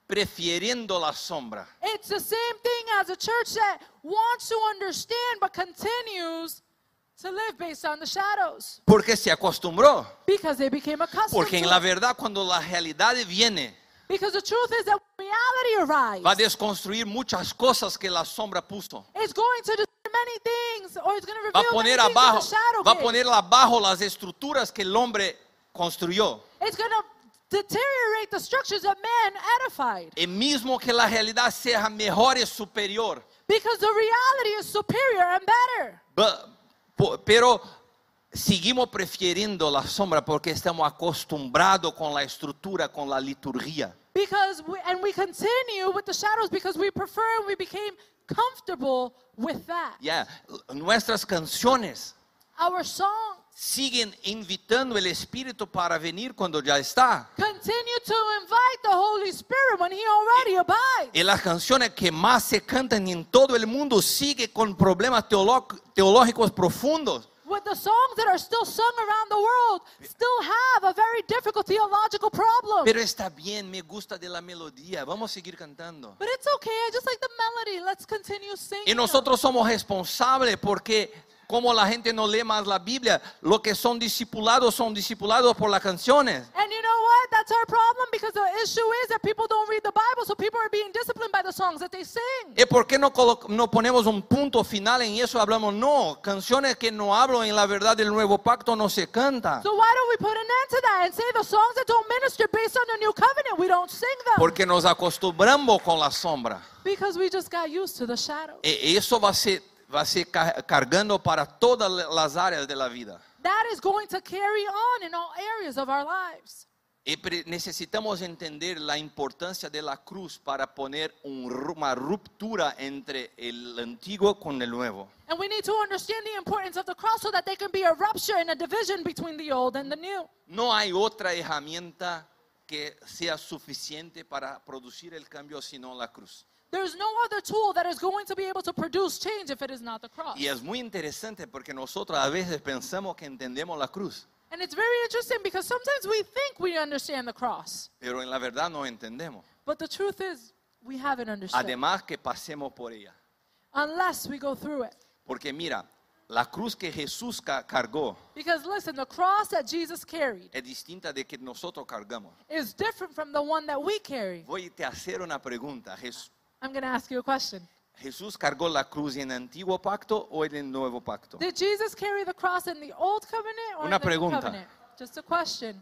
prefiriendo la sombra. It's the same thing as a church that wants to understand but continues to live based on the shadows. Porque se acostumbró. Because they became accustomed Porque en to la it. verdad, cuando la realidad viene, Because the truth is that when reality arrives, va a desconstruir muchas cosas que la sombra puso. it's going to destroy many things, or it's going to Va a reveal poner many things abajo, that the shadow va a gave. poner abajo las estructuras que el hombre construyó. It's going to deteriorate the structures that man edified. Y mismo que la realidad sea mejor y superior. Because the reality is superior and better. Ba- po- Pero seguimos prefiriendo la sombra porque estamos acostumbrados con la estructura, con la liturgia. Because we, and we continue with the shadows because we prefer and we became comfortable with that. Ya, nuestras canciones Our song siguen invitando el Espíritu para venir cuando ya está. continue to invite the Holy Spirit when He already abides. Y las canciones que más se cantan en todo el mundo siguen con problemas teolo- teológicos profundos. With the songs that are still sung around the world still have a very difficult theological problem. Pero está bien, me gusta de la melodía. Vamos a seguir cantando. But it's okay, I just like the melody. Let's continue singing. Y nosotros somos responsables porque como la gente no lee más la Biblia, los que son discipulados son discipulados por las canciones. And you know what? That's our problem because the issue is that people don't read the Bible, so people are being disciplined by the songs that they sing. ¿Y por qué no, colo- no ponemos un punto final en eso? Hablamos, no, canciones que no hablan en la verdad del nuevo pacto no se cantan. So why don't we put an end to that and say the songs that don't minister based on the new covenant, we don't sing them? Porque nos acostumbramos con la sombra. Because we just got used to the shadow. Y eso va a ser, va a ser ca- cargando para todas las áreas de la vida. That is going to carry on in all areas of our lives. Y pre- necesitamos entender la importancia de la cruz para poner un ru- una ruptura entre el antiguo con el nuevo. And we need to understand the importance of the cross so that there can be a rupture and a division between the old and the new. No hay otra herramienta que sea suficiente para producir el cambio sino la cruz. There's no other tool that is going to be able to produce change if it is not the cross. Y es muy interesante porque nosotros a veces pensamos que entendemos la cruz, And it's very interesting because sometimes we think we understand the cross, pero en la verdad no entendemos. but the truth is we haven't understood Además que pasemos por ella. unless we go through it. Porque mira, la cruz que Jesús ca- cargó Because listen, the cross that Jesus carried es distinta de que nosotros cargamos. is different from the one that we carry. Voy a te hacer una pregunta. Jes- I'm going to ask you a question. ¿Jesús cargó la cruz en el antiguo pacto o en el nuevo pacto? Did Jesus carry the cross in the old covenant or Una in the new pregunta. covenant? Just a question.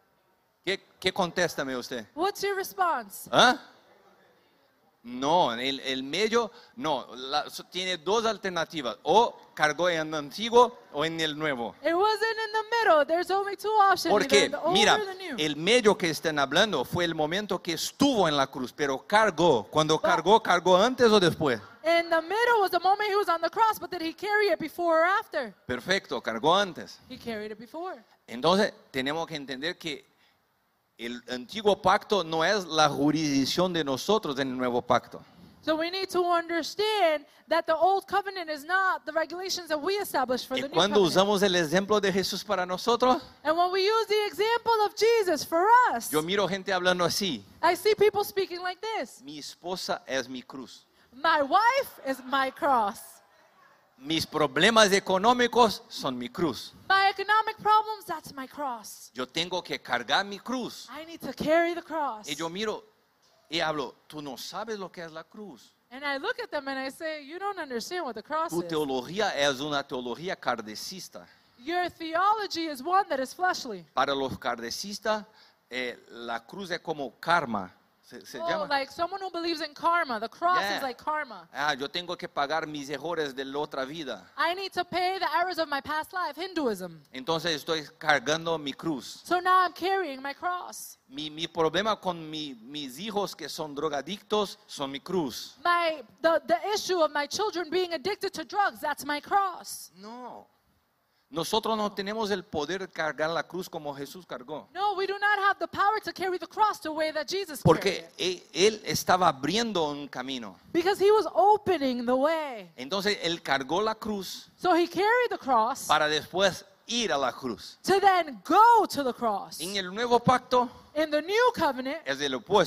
¿Qué, qué contéstame usted? What's your response? ¿Ah? No, el, el medio, no, la- so- tiene dos alternativas. O cargó en el antiguo o en el nuevo. It wasn't in the middle. There's only two options. Porque, either the old mira, or the new. el medio que están hablando fue el momento que estuvo en la cruz, pero cargó. Cuando cargó, ¿cargó antes o después? In the middle was the moment he was on the cross, but did he carry it before or after? Perfecto, cargó antes. He carried it before. Entonces, tenemos que entender que el antiguo pacto no es la jurisdicción de nosotros en el nuevo pacto. So we need to understand that the old covenant is not the regulations that we established for Y the new cuando covenant. usamos el ejemplo de Jesús para nosotros, And when we use the example of Jesus for us, yo miro gente hablando así. I see people speaking like this. Mi esposa es mi cruz. My wife is my cross. Mis problemas económicos son mi cruz. My economic problems, that's my cross. Yo tengo que cargar mi cruz. I need to carry the cross. Y yo miro y hablo, tú no sabes lo que es la cruz. And I look at them and I say, you don't understand what the cross Tu is. teología es una teología kardecista. Your theology is one that is fleshly. Para los kardecistas, eh, la cruz es como karma. Se, se Oh, llama. like someone who believes in karma. The cross Yeah. is like karma. Ah, yo tengo que pagar mis errores de la otra vida. I need to pay the errors of my past life, Hinduism. Entonces estoy cargando mi cruz. So now I'm carrying my cross. Mi, mi problema con mi- mis hijos que son drogadictos son mi cruz. My the, the issue of my children being addicted to drugs, that's my cross. No. Nosotros no tenemos el poder de cargar la cruz como Jesús cargó. No, we do not have the power to carry the cross the way that Jesus carried Porque it. él, él estaba abriendo un camino. Because he was opening the way. Entonces él cargó la cruz So he carried the cross para después ir a la cruz. to then go to the cross. En el nuevo pacto In the new covenant, es el opuesto.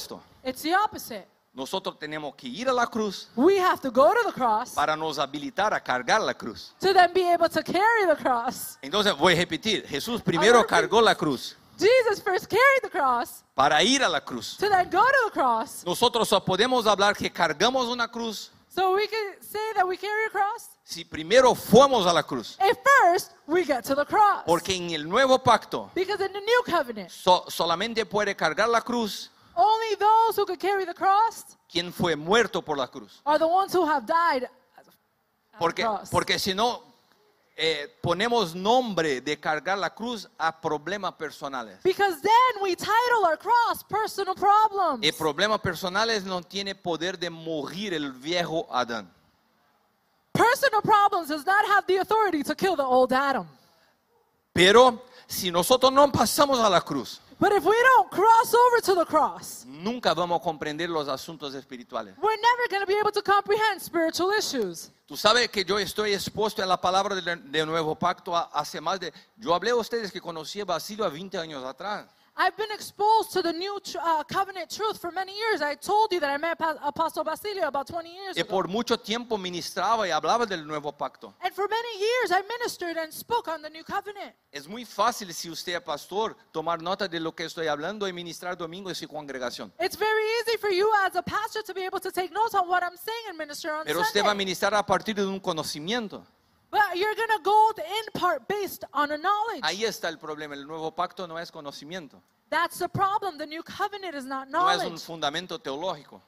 It's the opposite. Nosotros tenemos que ir a la cruz We have to go to the cross para nos habilitar a cargar la cruz. to then be able to carry the cross. Entonces voy a repetir, Jesús primero cargó la cruz Jesus first carried the cross para ir a la cruz. to then go to the cross. Nosotros solo podemos hablar que cargamos una cruz So we can say that we carry a cross si primero fuimos a la cruz. if first we get to the cross. Porque en el nuevo pacto Because in the new covenant, so- solamente puede cargar la cruz only those who could carry the cross quien fue muerto por la cruz. are the ones who have died at the Porque, cross. porque si no, eh, ponemos nombre de cargar la cruz a problemas personales. Because then we title our cross personal problems. Y problemas personales no tiene poder de morir el viejo Adán. Personal problems does not have the authority to kill the old Adam. Pero si nosotros no pasamos a la cruz, But if we don't cross over to the cross, nunca vamos a comprender los asuntos espirituales. we're never going to be able to comprehend spiritual issues. Tú sabes que yo estoy expuesto a la palabra del de nuevo pacto a- hace más de... Yo hablé a ustedes que conocí a Basilio a veinte años atrás. I've been exposed to the new tr- uh, covenant truth for many years. I told you that I met Pa- Apostle Basilio about twenty years Y ago. por mucho tiempo ministraba y hablaba del nuevo pacto. And for many years, I ministered and spoke on the new covenant. Es muy fácil, si usted es pastor, tomar nota de lo que estoy hablando y ministrar domingo en su congregación. It's very easy for you as a pastor to be able to take notes on what I'm saying and minister on Pero usted va a Sunday. ministrar a partir de un conocimiento. But you're going to go in part based on a knowledge. Ahí está el problema. El nuevo pacto no es conocimiento. That's the problem. The new covenant is not No es un knowledge. fundamento teológico.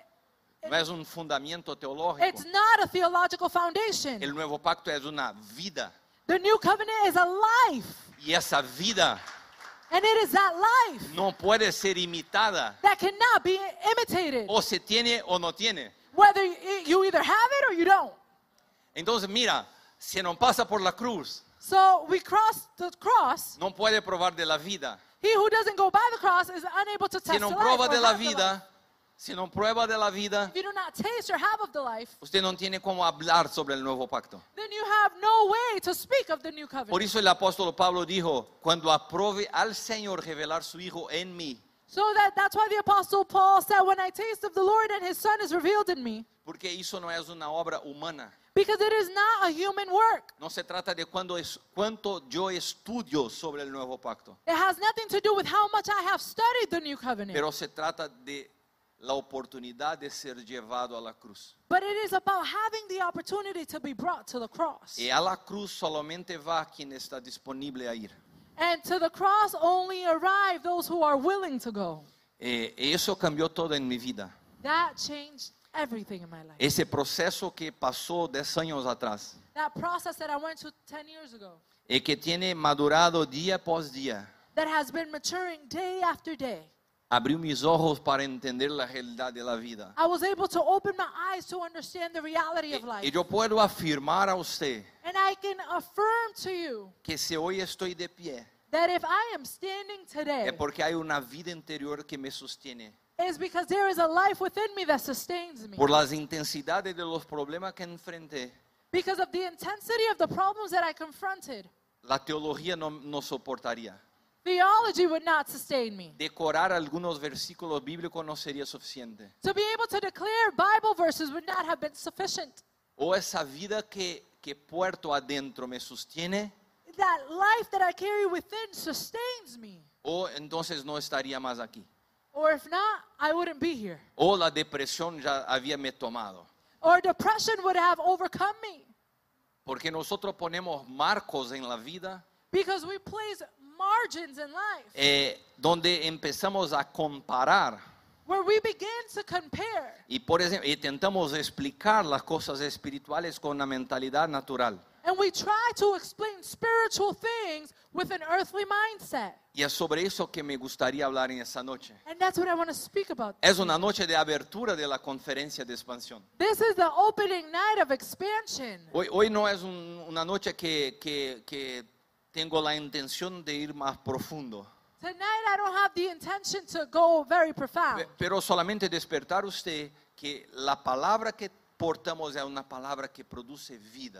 It- No es un fundamento teológico. it's not a theological foundation. El nuevo pacto es una vida. The new covenant is a life. Y esa vida And it is that life no puede ser imitada. that cannot be imitated. O se tiene o no tiene. Whether y- you either have it or you don't. Entonces, mira, si no pasa por la cruz, So we cross the cross. no puede probar de la vida. He who doesn't go by the cross is unable to Si test no the prueba life or de la have the life. vida, si no prueba de la vida, If you do not taste or have of the life, usted no tiene cómo hablar sobre el nuevo pacto. then you have no way to speak of the new Por covenant. eso el apóstol Pablo dijo, cuando aprove al Señor revelar su Hijo en mí, So that, that's why the Apostle Paul said, when I taste of the Lord and his Son is revealed in me, porque eso no es una obra humana. because it is not a human work. No se trata de cuando es, cuánto yo estudio sobre el nuevo pacto, It has nothing to do with how much I have studied the new covenant. pero se trata de la oportunidad de ser llevado a la cruz. But it is about having the opportunity to be brought to the cross. Y a la cruz solamente va quien está disponible a ir. And to the cross only arrive those who are willing to go. Eh, eso cambió todo en mi vida. That changed everything in my life. Ese proceso que pasó diez años atrás That process that I went to ten years ago, y que tiene madurado día por día, that has been maturing day after day. abrió mis ojos para entender la realidad de la vida. I was able to open my eyes to understand the reality Y, of life. y yo puedo afirmar a usted And I can affirm to you que si hoy estoy de pie, that if I am standing today, es porque hay una vida interior que me sostiene. it's because there is a life within me that sustains me. Por las intensidades de los problemas que enfrenté, Because of the intensity of the problems that I confronted, la teología no, no soportaría. theology would not sustain me. Decorar algunos versículos bíblicos no sería suficiente. To be able to declare Bible verses would not have been sufficient. O esa vida que, que puerto adentro me sostiene, That life that I carry within sustains me. o entonces no estaría más aquí. Or if not, I wouldn't be here. O la depresión ya había me tomado. Or depression would have overcome me. Porque nosotros ponemos marcos en la vida Because we place margins in life eh, donde empezamos a comparar where we begin to compare. y por ejemplo intentamos explicar las cosas espirituales con una mentalidad natural. And we try to explain spiritual things with an earthly mindset. Y es sobre eso que me gustaría hablar en esta noche. And that's what I want to speak about. Es una noche de abertura de la conferencia de expansión. This is the opening night of expansion. Hoy, hoy no es un- una noche que, que, que tengo la intención de ir más profundo, Tonight I don't have the intention to go very profound. Pe- pero solamente despertar usted que la palabra que portamos es una palabra que produce vida.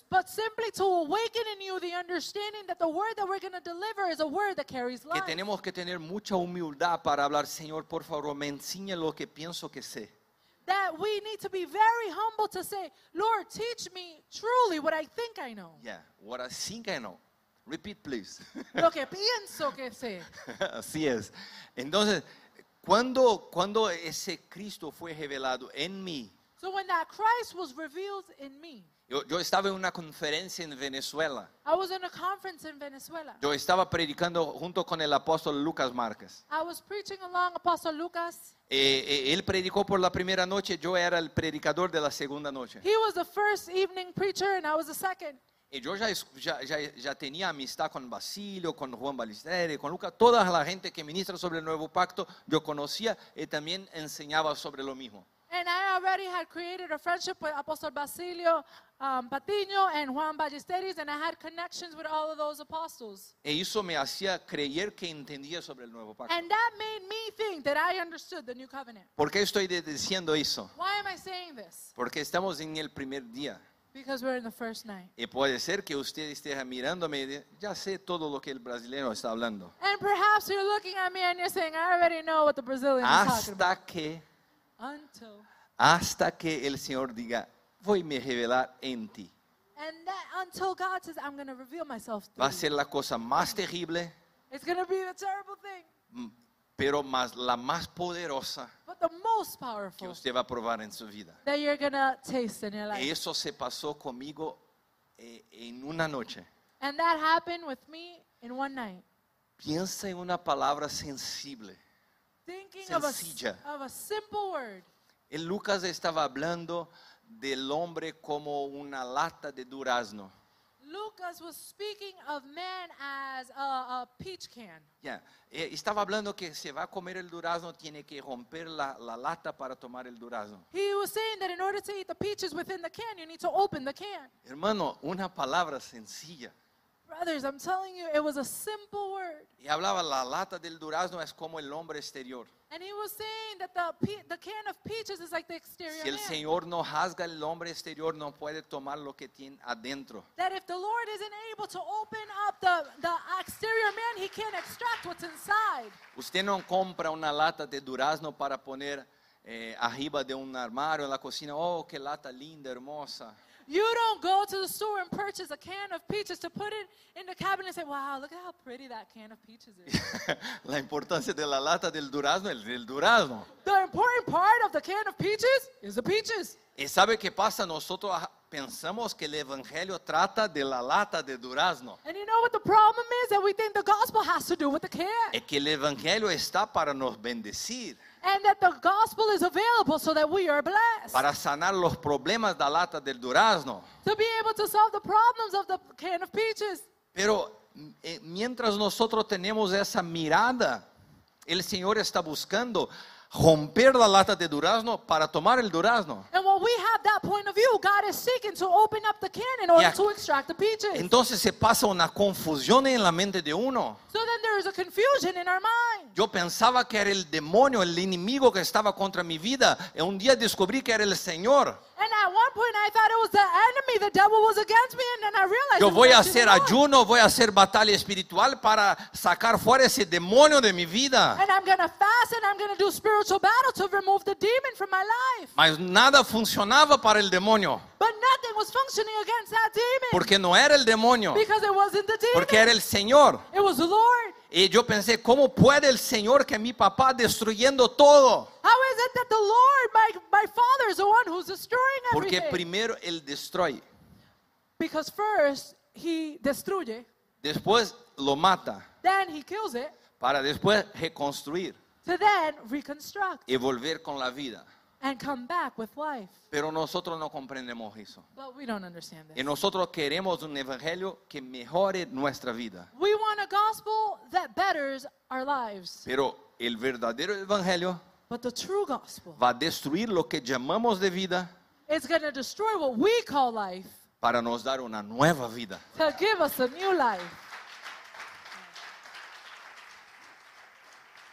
but simply to awaken in you the understanding that the word that we're going to deliver is a word that carries Que life. tenemos que tener mucha humildad para hablar, Señor, por favor, me enseña lo que pienso que sé. That we need to be very humble to say, Lord, teach me truly what I think I know. Yeah, what I think I know. Repeat, please. Lo que pienso que sé. Así es. Entonces, cuando, cuando ese Cristo fue revelado en mí, So when that Christ was revealed in me, yo, yo estaba en una conferencia en Venezuela. I was in a conference in Venezuela. Yo estaba predicando junto con el apóstol Lucas Márquez. I was preaching along Apostle Lucas. Eh, eh, él predicó por la primera noche, yo era el predicador de la segunda noche. He was the first evening preacher and I was the second. Y yo ya, es- ya, ya, ya tenía amistad con Basilio, con Juan Ballesteri, con Lucas, toda la gente que ministra sobre el nuevo pacto, yo conocía y también enseñaba sobre lo mismo. And I already had created a friendship with Apostle Basilio um, Patiño and Juan Ballesteris, and I had connections with all of those apostles. E eso me hacía creer que entendía sobre el nuevo pacto. And that made me think that I understood the new covenant. ¿Por qué estoy de- diciendo eso? Why am I saying this? Porque estamos en el primer día. Because we're in the first night. Y puede ser que usted esté mirándome y diga, ya sé todo lo que el brasileño está hablando. And perhaps you're looking at me and you're saying, I already know what the Brazilian is talking about. Hasta que, Until. hasta que el Señor diga, voy a revelar en ti. And that until God says, I'm going to reveal myself Va a to you. ser la cosa más terrible, It's going to be the terrible thing, mm, pero más, la más poderosa but the most que powerful usted va a probar en su vida. that you're going to taste in your life. Eso se pasó conmigo eh, en una noche. And that happened with me in one night. Piensa en una palabra sensible. Thinking of a, Sencilla. of a simple word. El Lucas estaba hablando del hombre como una lata de durazno. Lucas was speaking of man as a, a peach can. Ya, eh, estaba hablando que se va a comer el durazno, tiene que romper la, la lata para tomar el durazno. He was saying that in order to eat the peaches within the can, you need to open the can. Hermano, una palabra sencilla. Brothers, I'm telling you, it was a simple word. Y hablaba, la lata del durazno es como el hombre exterior. And he was saying that the, pe- the can of peaches is like the exterior Si el man. Señor no rasga el hombre exterior, no puede tomar lo que tiene adentro. That if the Lord isn't able to open up the, the exterior man, he can't extract what's inside. Usted no compra una lata de durazno para poner eh, arriba de un armario en la cocina. Oh, qué lata linda, hermosa. You don't go to the store and purchase a can of peaches to put it in the cabinet and say, wow, look at how pretty that can of peaches is. La importancia de la lata del durazno es el durazno. The important part of the can of peaches is the peaches. ¿Y sabe qué pasa? Nosotros ah, pensamos que el evangelio trata de la lata de durazno. And you know what the problem is? That we think the gospel has to do with the can. Es que el evangelio está para nos bendecir, And that the gospel is available so that we are blessed. para sanar los problemas de la lata del durazno. To be able to solve the problems of the can of peaches. Pero eh, mientras nosotros tenemos esa mirada, el Señor está buscando romper la lata de durazno para tomar el durazno. And when we have that point of view, God is seeking to open up the can in order Yeah. to extract the peaches. Entonces se pasa una confusión en la mente de uno. So then there is a confusion in our mind. Yo pensaba que era el demonio, el enemigo que estaba contra mi vida. Y un día descubrí que era el Señor. And at one point I thought it was the enemy, the devil was against me, and then I realized Yo it was voy a actually hacer the Lord. ayuno, voy a hacer batalla espiritual para sacar fuera ese demonio de mi vida. And I'm going to fast and I'm going to do spiritual battle to remove the demon from my life. Mas nada funcionaba para el demonio, But nothing was functioning against that demon. porque no era el demonio, Because it wasn't the demon. porque era el Señor. It was the Lord. Y yo pensé, ¿cómo puede el Señor que mi papá destruyendo todo? How is it that the Lord, my, my Father, is the one who's destroying Porque everything? primero Él destruye, Because first he destruye, después lo mata, then he kills it, para después reconstruir to then reconstruct y volver con la vida. and come back with life. Pero nosotros no comprendemos eso. But we don't understand Y this. nosotros queremos un evangelio que mejore nuestra vida. We want a gospel that betters our lives. Pero el verdadero evangelio But the true gospel va a destruir lo que llamamos de vida is going to destroy what we call life para nos dar una nueva vida. to give us a new life.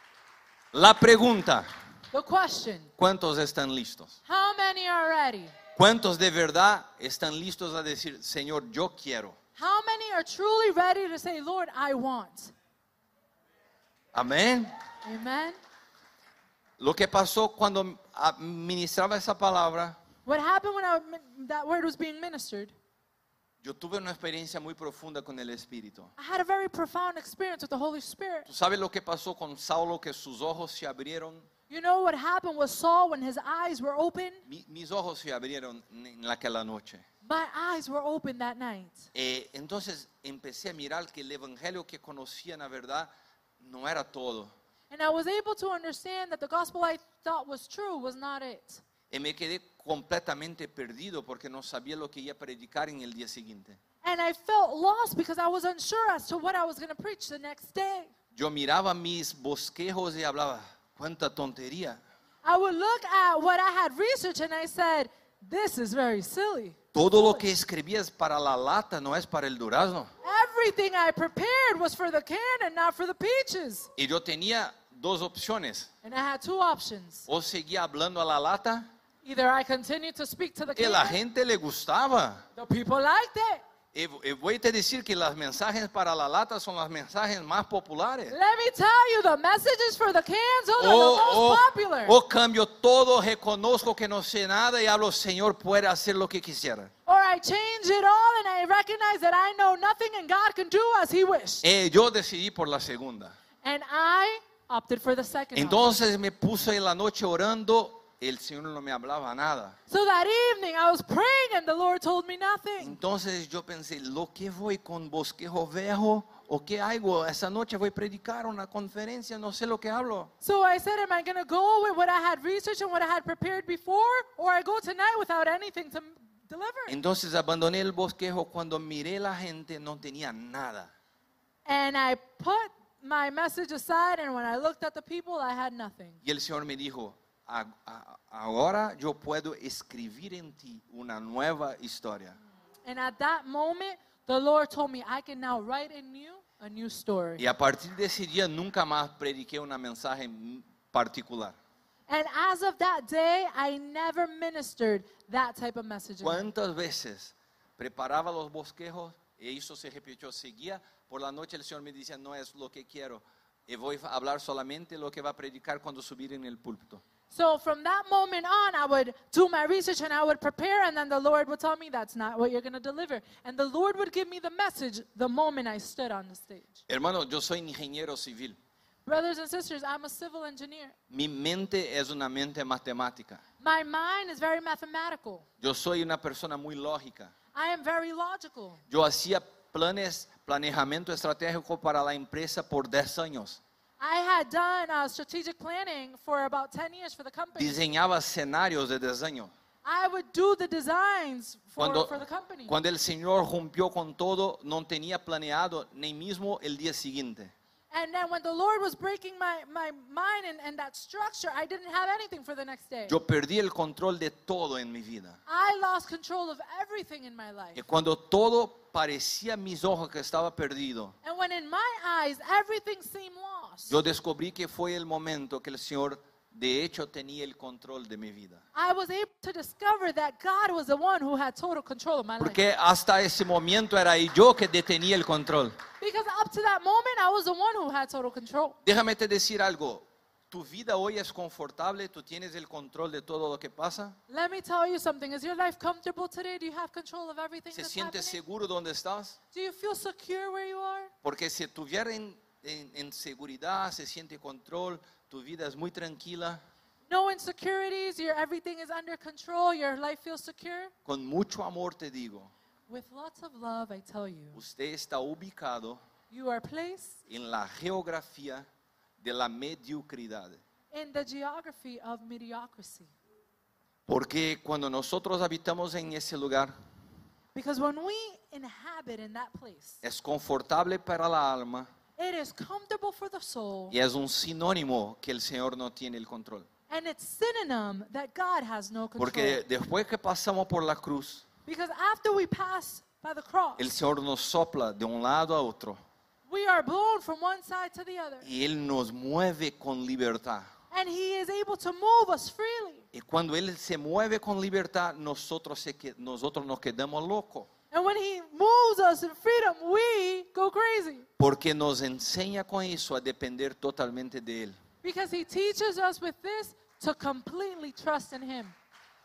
La pregunta, The question, ¿cuántos están listos? how many are ready? ¿Cuántos de verdad están listos a decir, Señor, yo quiero? How many are truly ready to say, Lord, I want? Amén. Amen. Lo que pasó cuando ministraba esa palabra, What happened when I, that word was being ministered? yo tuve una experiencia muy profunda con el Espíritu. I had a very profound experience with the Holy Spirit. ¿Tú sabes lo que pasó con Saulo, que sus ojos se abrieron? You know what happened with Saul when his eyes were open? Mi- mis ojos se abrieron en aquella noche. My eyes were open that night. Eh, entonces empecé a mirar que el evangelio que conocía, la verdad, no era todo. And I was able to understand that the gospel I thought was true was not it. Y me quedé completamente perdido porque no sabía lo que iba a predicar en el día siguiente. And I felt lost because I was unsure as to what I was going to preach the next day. Yo miraba mis bosquejos y hablaba, cuánta tontería. I would look at what I had researched and I said, this is very silly. Todo lo que escribías para la lata no es para el durazno. Everything I prepared was for the can and not for the peaches. Y yo tenía dos opciones. And I had two options. O seguía hablando a la lata, Either I continued to speak to the que la can, gente le gustaba. the people liked it. Y y voy a te decir que los mensajes para la lata son los mensajes más populares. Let me tell you, the messages for the cans are the O, most o, popular. o cambio todo, reconozco que no sé nada y hablo, Señor, puede hacer lo que quisiera. Or I change it all and I recognize that I know nothing and God can do as He wished. Eh, yo decidí por la segunda. And I opted for the second option. Entonces me puse en la noche orando, el Señor no me hablaba nada. So that evening I was praying and the Lord told me nothing. Entonces yo pensé, lo que voy con bosquejo viejo o qué hago, esa noche voy a predicar una conferencia, no sé lo que hablo. So I said, am I going to go with what I had researched and what I had prepared before? Or I go tonight without anything to deliver? Entonces abandoné el bosquejo, cuando miré la gente no tenía nada. And I put my message aside and when I looked at the people, I had nothing. Y el Señor me dijo, "A- a- ahora yo puedo escribir en ti una nueva historia. And at that moment, the Lord told me, I can now write in you a new story. Y a partir de ese día nunca más prediqué una mensaje particular. And as of that day, I never ministered that type of message again. ¿Cuántas veces preparaba los bosquejos y eso se repitió? Seguía por la noche, el Señor me decía, no es lo que quiero. Y voy a hablar solamente lo que va a predicar cuando subir en el púlpito. So from that moment on, I would do my research and I would prepare, and then the Lord would tell me that's not what you're going to deliver. And the Lord would give me the message the moment I stood on the stage. Hermano, yo soy ingeniero civil. Brothers and sisters, I'm a civil engineer. Mi mente es una mente matemática. My mind is very mathematical. Yo soy una persona muy lógica. I am very logical. Yo hacía planes, planejamiento estratégico para la empresa por diez años. I had done uh, strategic planning for about ten years for the company. Diseñaba escenarios de diseño. I would do the designs for, Cuando, for the company. cuando el Señor rompió con todo, no tenía planeado ni mismo el día siguiente. And then when the Lord was breaking my, my mind and, and that structure, I didn't have anything for the next day. Yo perdí el control de todo en mi vida. I lost control of everything in my life. Y cuando todo parecía a mis ojos que estaba perdido, And when in my eyes everything seemed lost, yo descubrí que fue el momento que el Señor de hecho tenía el control de mi vida. I was able to discover that God was the one who had total control of my life. Porque hasta ese momento era yo que detenía el control. Because up to that moment, I was the one who had total control. Déjame te decir algo. ¿Tu vida hoy es confortable? ¿Tú tienes el control de todo lo que pasa? Let me tell you something. Is your life comfortable today? Do you have control of everything ¿Se that's siente happening? seguro donde estás? Do you feel secure where you are? Porque si tuviera en, en, en seguridad, se siente control, tu vida es muy tranquila, No insecurities, your everything is under control, your life feels secure. con mucho amor te digo, With lots of love, I tell you, usted está ubicado you are placed en la geografía de la mediocridad. in the geography of mediocrity. Porque cuando nosotros habitamos en ese lugar, Because when we inhabit in that place, es confortable para la alma it is comfortable for the soul, y es un sinónimo que el Señor no tiene el control. and it's synonym that God has no control. Porque después que pasamos por la cruz, Because after we pass by the cross, el Señor nos sopla de un lado a otro we are blown from one side to the other. y Él nos mueve con libertad. And He is able to move us freely. Y cuando Él se mueve con libertad, nosotros, se, que- nosotros nos quedamos locos. And when he moves us in freedom, we go crazy. Porque nos enseña con eso a depender totalmente de Él. Because he teaches us with this to completely trust in him.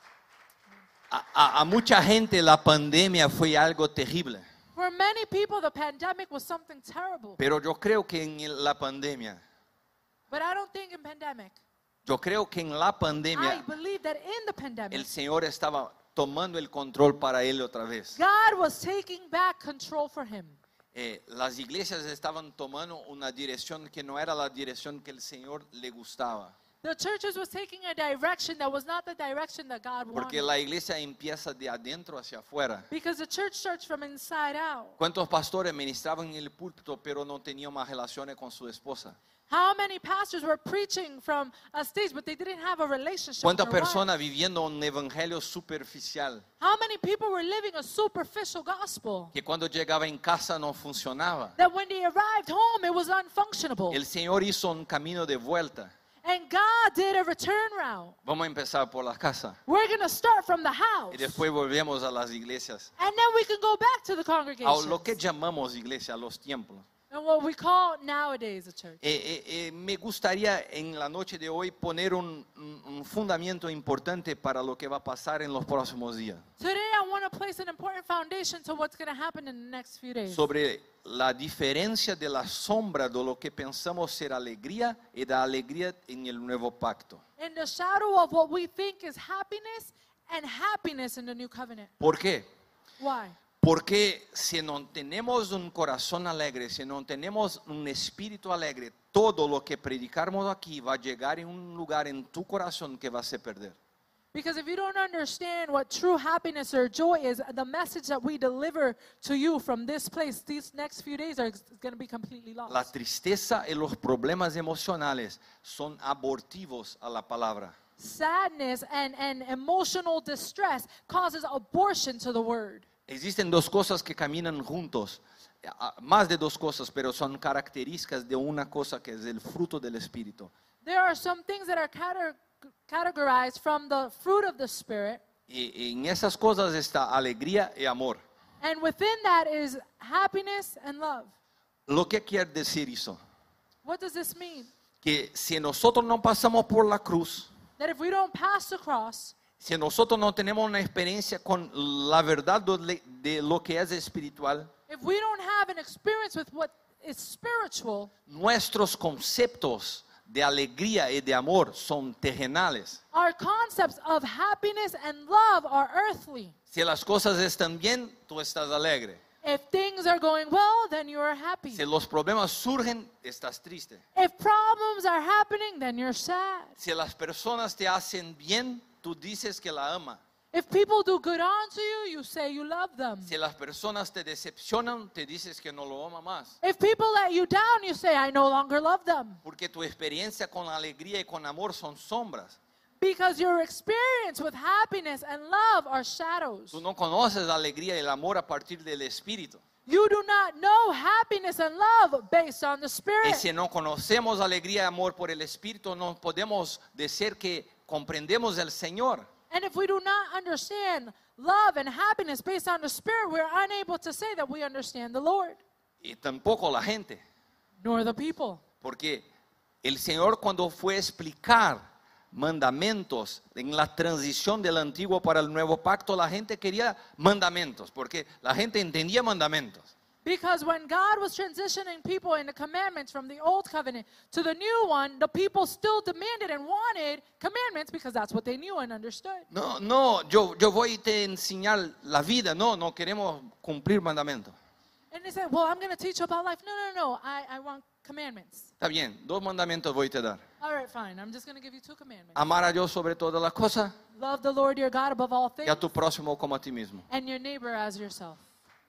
A, a- a mucha gente la pandemia fue algo terrible. For many people, the pandemic was something terrible. Pero yo creo que en la pandemia, But I don't think in pandemic. yo creo que en la I pandemia believe that in the pandemic, el Señor estaba tomando el control para Él otra vez. God was taking back control for him. Eh, las iglesias estaban tomando una dirección que no era la dirección que el Señor le gustaba. The churches was taking a direction that was not the direction that God Porque wanted. la iglesia empieza de adentro hacia afuera. Because the church starts from inside out. ¿Cuántos pastores ministraban en el púlpito pero no tenían más relaciones con su esposa? How many pastors were preaching from a stage, but they didn't have a relationship with ¿Cuántas their wife? personas viviendo un evangelio superficial How many people were living a superficial gospel? que cuando llegaba en casa no funcionaba? That when they arrived home, it was unfunctionable. El Señor hizo un camino de vuelta. And God did a return route. Vamos a empezar por la casa We're going to start from the house. y después volvemos a las iglesias. And then we can go back to the A congregation. lo que llamamos iglesia, a los templos. And what we call nowadays a church. Eh, eh, eh, me gustaría en la noche de hoy poner un, un- un fundamento importante para lo que va a pasar en los próximos días. Today I want to place an important foundation to what's going to happen in the next few days. Sobre la diferencia de la sombra de lo que pensamos ser alegría y de alegría en el nuevo pacto. In the shadow of what we think is happiness and happiness in the new covenant. ¿Por qué? Why? Porque si no tenemos un corazón alegre, si no tenemos un espíritu alegre, todo lo que predicamos aquí va a llegar en un lugar en tu corazón que vas a perder. Because if you don't understand what true happiness or joy is, the message that we deliver to you from this place, these next few days are going to be completely lost. La tristeza y los problemas emocionales son abortivos a la palabra. Sadness and, and emotional distress causes abortion to the word. Existen dos cosas que caminan juntos, ah, más de dos cosas, pero son características de una cosa que es el fruto del Espíritu. There are some things that are cate- categorized from the fruit of the Spirit, Y y en esas cosas está alegría y amor. and within that is happiness and love. Lo que quiere decir eso, What does this mean? que si nosotros no pasamos por la cruz, That if we don't pass the cross, si nosotros no tenemos una experiencia con la verdad de de lo que es espiritual, if we don't have an experience with what is spiritual, nuestros conceptos de alegría y de amor son terrenales. our concepts of happiness and love are earthly. Si las cosas están bien, tú estás alegre. If things are going well, then you are happy. Si los problemas surgen, estás triste. If problems are happening, then you're sad. Si las personas te hacen bien, tú dices que la ama. If people do good unto you, you say you love them. Si las personas te decepcionan, te dices que no lo ama más. If people let you down, you say, I no longer love them. Porque tu experiencia con alegría y con amor son sombras. Because your experience with happiness and love are shadows. Tú no conoces la alegría y el amor a partir del Espíritu. You do not know happiness and love based on the Y Spirit. si no conocemos alegría y amor por el Espíritu, no podemos decir que comprendemos al Señor. And if we do not understand love and happiness based on the Spirit, we're unable to say that we understand the Lord, Y tampoco la gente. nor the people. Porque el Señor cuando fue a explicar mandamientos en la transición del antiguo para el nuevo pacto, la gente quería mandamientos, porque la gente entendía mandamientos. Because when God was transitioning people in the commandments from the old covenant to the new one, the people still demanded and wanted commandments because that's what they knew and understood. No, no, yo, yo voy a te enseñar la vida, no, no queremos cumplir mandamientos. And they said, well, I'm going to teach you about life. No, no, no, I, I want commandments. Está bien, dos mandamientos voy a te dar. All right, fine. I'm just going to give you two commandments. Amar a Dios sobre todas las cosas Love the Lord your God above all y things a tu próximo como a ti mismo. and your neighbor as yourself.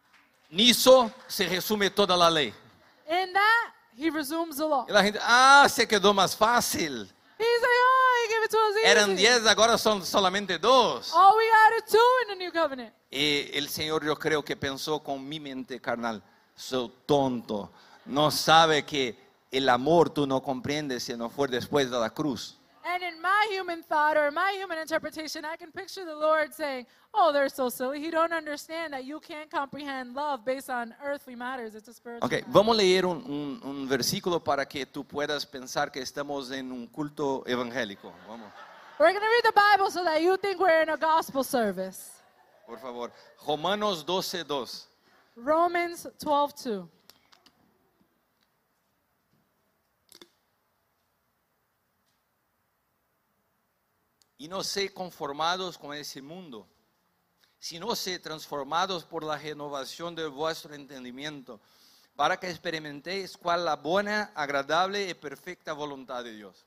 Nisso se resume toda la ley. In that, he resumes the law. Y la gente, ah, se quedó más fácil. He's like, oh, he gave it to us easy. Eran diez, ahora son solamente dos. Oh, we added two in the new covenant. Y el Señor yo creo que pensó con mi mente carnal, soy tonto, no sabe que el amor tú no comprendes si no fue después de la cruz. And in my human thought or my human interpretation, I can picture the Lord saying, oh, they're so silly. He don't understand that you can't comprehend love based on earthly matters. It's a spiritual Ok, matter. vamos a leer un, un- un versículo para que tú puedas pensar que estamos en un culto evangélico. Vamos, We're going to read the Bible so that you think we're in a gospel service. por favor. Romanos doce, dos. Romans twelve two. Y no sé conformados con ese mundo, sino sé transformados por la renovación de vuestro entendimiento, para que experimentéis cuál la buena, agradable y perfecta voluntad de Dios.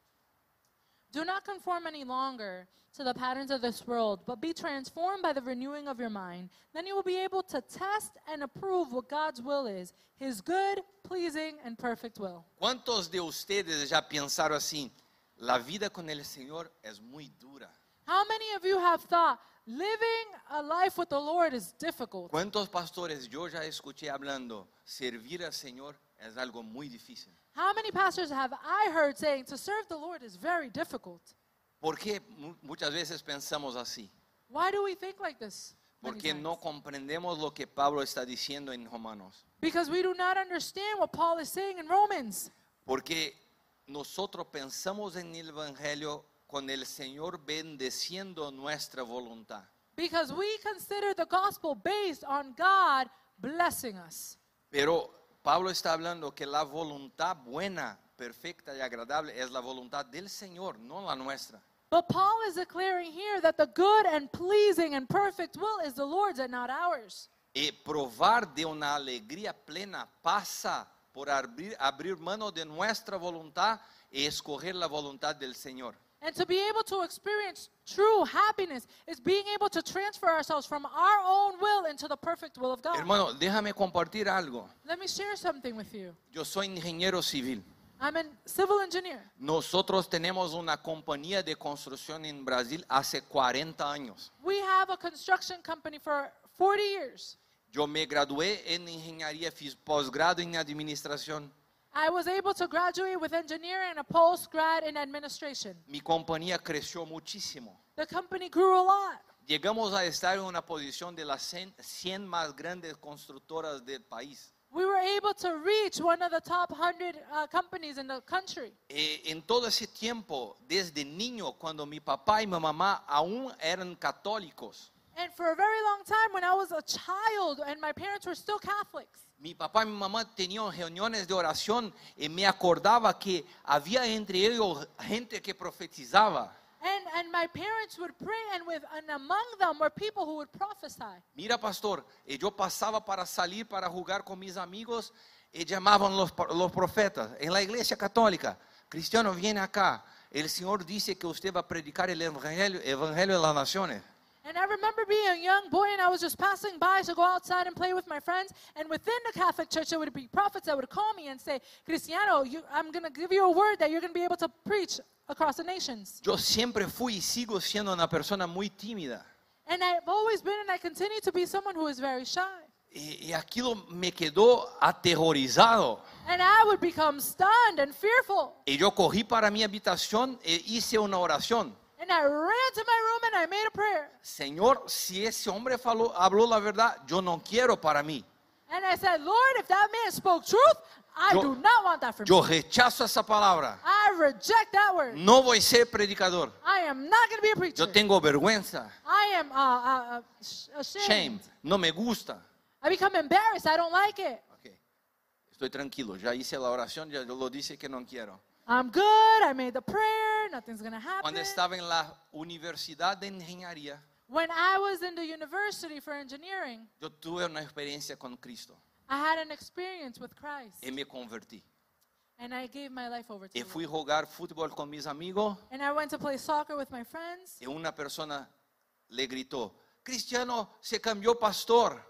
Do not conform any longer to the patterns of this world, but be transformed by the renewing of your mind. Then you will be able to test and approve what God's will is, his good, pleasing, and perfect will. ¿Cuántos de ustedes ya pensaron así? La vida con el Señor es muy dura. How many of you have thought living a life with the Lord is difficult? ¿Cuántos pastores yo ya escuché hablando? Servir al Señor es algo muy difícil. How many pastors have I heard saying to serve the Lord is very difficult? ¿Por qué mu- muchas veces pensamos así? Why do we think like this? many Porque times? no comprendemos lo que Pablo está diciendo en Romanos. Because we do not understand what Paul is saying in Romans. Porque nosotros pensamos en el Evangelio con el Señor bendeciendo nuestra voluntad. Because we consider the gospel based on God blessing us. Pero Pablo está hablando que la voluntad buena, perfecta y agradable es la voluntad del Señor, no la nuestra. But Paul is declaring here that the good and pleasing and perfect will is the Lord's and not ours. Y probar de una alegría plena pasa por abrir, abrir mano de nuestra voluntad y escoger la voluntad del Señor. And to be able to experience true happiness is being able to transfer ourselves from our own will into the perfect will of God. Hermano, déjame compartir algo. Let me share something with you. Yo soy ingeniero civil. I'm a civil engineer. Nosotros tenemos una compañía de construcción en Brasil hace cuarenta años. We have a construction company for forty years. Yo me gradué en ingeniería, fiz posgrado en administración. I was able to graduate with engineering and a postgrad in administration. Mi compañía creció muchísimo. The company grew a lot. Llegamos a estar en una posición de las cien más grandes constructoras del país. We were able to reach one of the top one hundred uh, companies in the country. Eh, en todo ese tiempo, desde niño, cuando mi papá y mi mamá aún eran católicos, And for a very long time, when I was a child and my parents were still Catholics, mi papá y mi mamá tenían reuniones de oración y me acordaba que había entre ellos gente que profetizaba. and, and my parents would pray, and with and among them were people who would prophesy. Mira, pastor, y yo pasaba para salir para jugar con mis amigos y llamaban los, los profetas en la iglesia católica. Cristiano, viene acá. El Señor dice que usted va a predicar el evangelio, evangelio de las naciones. And I remember being a young boy, and I was just passing by to go outside and play with my friends. And within the Catholic Church, there would be prophets that would call me and say, Cristiano, you, I'm going to give you a word that you're going to be able to preach across the nations. Yo siempre fui y sigo siendo una persona muy tímida. And I've always been, and I continue to be someone who is very shy. Y, y aquello me quedó aterrorizado. And I would become stunned and fearful. Y yo cogí para mi habitación e hice una oración. And I ran to my room and I made a prayer. Señor, si ese hombre faló, habló la verdad, yo no quiero para mí. And I said, Lord, if that man spoke truth, I Yo- do not want that for Yo me. rechazo esa palabra. I reject that word. No voy a ser predicador. I am not going to be a preacher. Yo tengo vergüenza, I am uh, uh, uh, sh- ashamed. shame, no me gusta. I become embarrassed. I don't like it. Ok, estoy tranquilo, ya hice la oración, ya lo dice que no quiero. I'm good. I made the prayer. Nothing's going to happen. Cuando estaba en la universidad de ingeniería, When I was in the university for engineering, yo tuve una experiencia con Cristo I had an experience with Christ. y me convertí. And I gave my life over to Y the fui a Lord. jugar fútbol con mis amigos And I went to play soccer with my friends. y una persona le gritó, Cristiano se cambió pastor.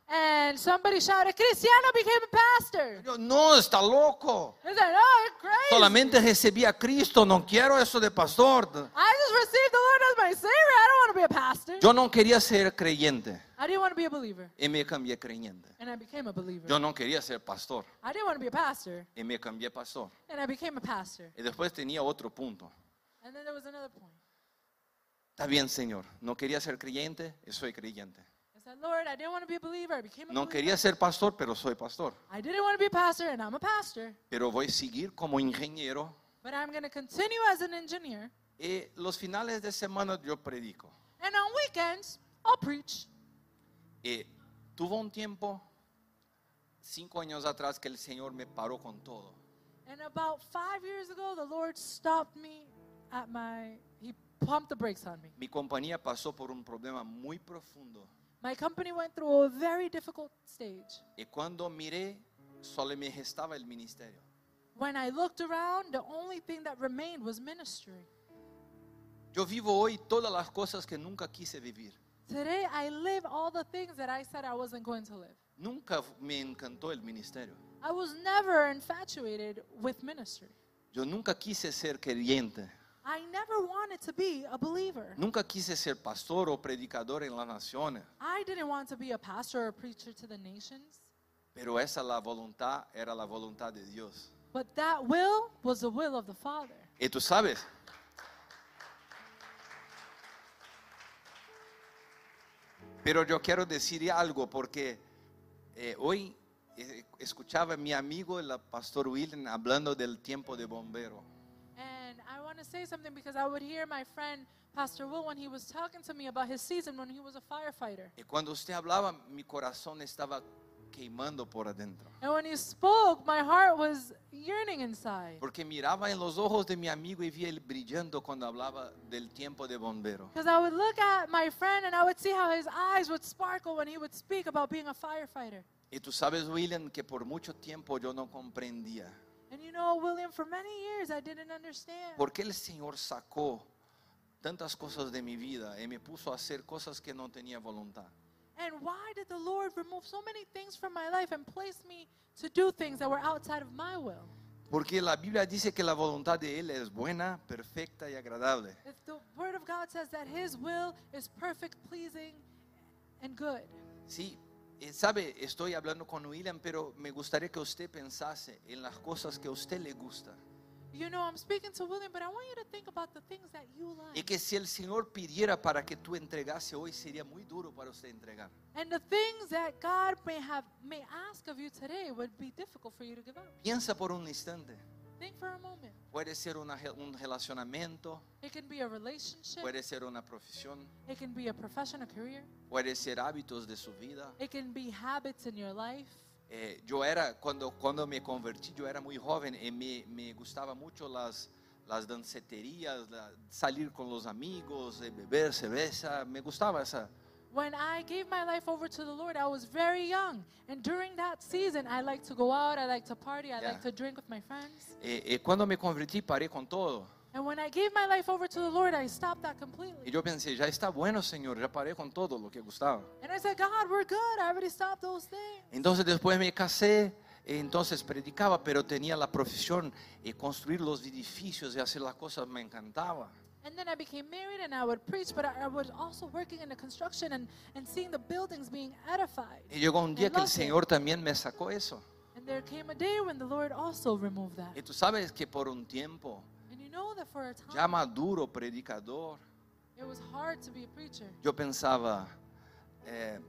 And somebody shouted, Cristiano became a pastor. Yo, no, está loco. I said, oh, you're crazy. Solamente recibí a Cristo, no quiero eso de pastor. I just received the Lord as my Savior. I don't want to be a pastor. Yo no quería ser creyente I didn't want to be a believer. y me cambié creyente. And I became a believer. Yo no quería ser pastor I didn't want to be a pastor. y me cambié pastor. And I became a pastor. Y después tenía otro punto. And then there was another point. Está bien, Señor. No quería ser creyente, soy creyente. I said, Lord, I didn't want to be a believer. I became a No believer. quería ser pastor, pero soy pastor. I didn't want to be a pastor, and I'm a pastor. Pero voy a seguir como ingeniero. But I'm going to continue as an engineer. Y los finales de semana yo predico. And on weekends, I'll preach. Y tuvo un tiempo, cinco años atrás, que el Señor me paró con todo. And about five years ago, the Lord stopped me at my, he pumped the brakes on me. Mi compañía pasó por un problema muy profundo. My company went through a very difficult stage. Y cuando miré, solo me gestaba el ministerio. When I looked around, the only thing that remained was ministry. Yo vivo hoy todas las cosas que nunca quise vivir. Today, I live all the things that I said I wasn't going to live. Nunca me encantó el ministerio. I was never infatuated with ministry. Yo nunca quise ser creyente. I never wanted to be a believer. Nunca quise ser pastor o predicador en las naciones. I didn't want to be a pastor or a preacher to the nations. Pero esa la voluntad era la voluntad de Dios. But that will was the will of the Father. Y tú sabes, pero yo quiero decir algo porque eh, hoy eh, escuchaba a mi amigo el pastor William hablando del tiempo de bombero. And I want to say something because I would hear my friend Pastor Will when he was talking to me about his season when he was a firefighter. Y cuando usted hablaba, mi corazón estaba queimando por adentro. And when he spoke, my heart was yearning inside. Porque miraba en los ojos de mi amigo y vi él brillando cuando hablaba del tiempo de bombero. Because I would look at my friend and I would see how his eyes would sparkle when he would speak about being a firefighter. Y tú sabes, William, que por mucho tiempo yo no comprendía And you know, William, for many years I didn't understand. por qué el Señor sacó tantas cosas de mi vida y me puso a hacer cosas que no tenía voluntad. And why did the Lord remove so many things from my life and place me to do things that were outside of my will? Porque la Biblia dice que la voluntad de Él es buena, perfecta y agradable. If the Word of God says that His will is perfect, pleasing, and good. Sí, eh, sabe, estoy hablando con William, pero me gustaría que usted pensase en las cosas que a usted le gusta. You know, I'm speaking to William, but I want you to think about the things that you Y like. que si el Señor pidiera para que tú entregase hoy, sería muy duro para usted entregar. And the things that God may have may ask of you today would be difficult for you to give up. Piensa por un instante. Think for a moment. Puede ser una, un relacionamiento, It can be a relationship. puede ser una profesión, It can be a profession, a career. puede ser hábitos de su vida. It can be habits in your life. Eh, yo era, cuando, cuando me convertí, yo era muy joven y me, me gustaba mucho las, las danceterías, la- salir con los amigos, eh, beber cerveza, me gustaba esa. When I gave my life over to the Lord, I was very young. And during that season, I liked to go out, I liked to party, I Yeah. liked to drink with my friends. Eh, eh, cuando me convertí, paré con todo. And when I gave my life over to the Lord, I stopped that Y completely. yo pensé, ya está bueno, Señor, ya paré con todo lo que gustaba. And I said, God, we're good. I already stopped those things. Entonces después me casé, eh, entonces predicaba, pero tenía la profesión de construir los edificios y hacer las cosas, me encantaba. And then I became married and I would preach, but I, I was also working in the construction and, and seeing the buildings being edified. Y llegó un día I que el loved it. Señor también me sacó eso. And there came a day when the Lord also removed that. Y tú sabes que por un tiempo, And you know that for a time, ya maduro, predicador, it was hard to be a preacher. yo pensaba, eh,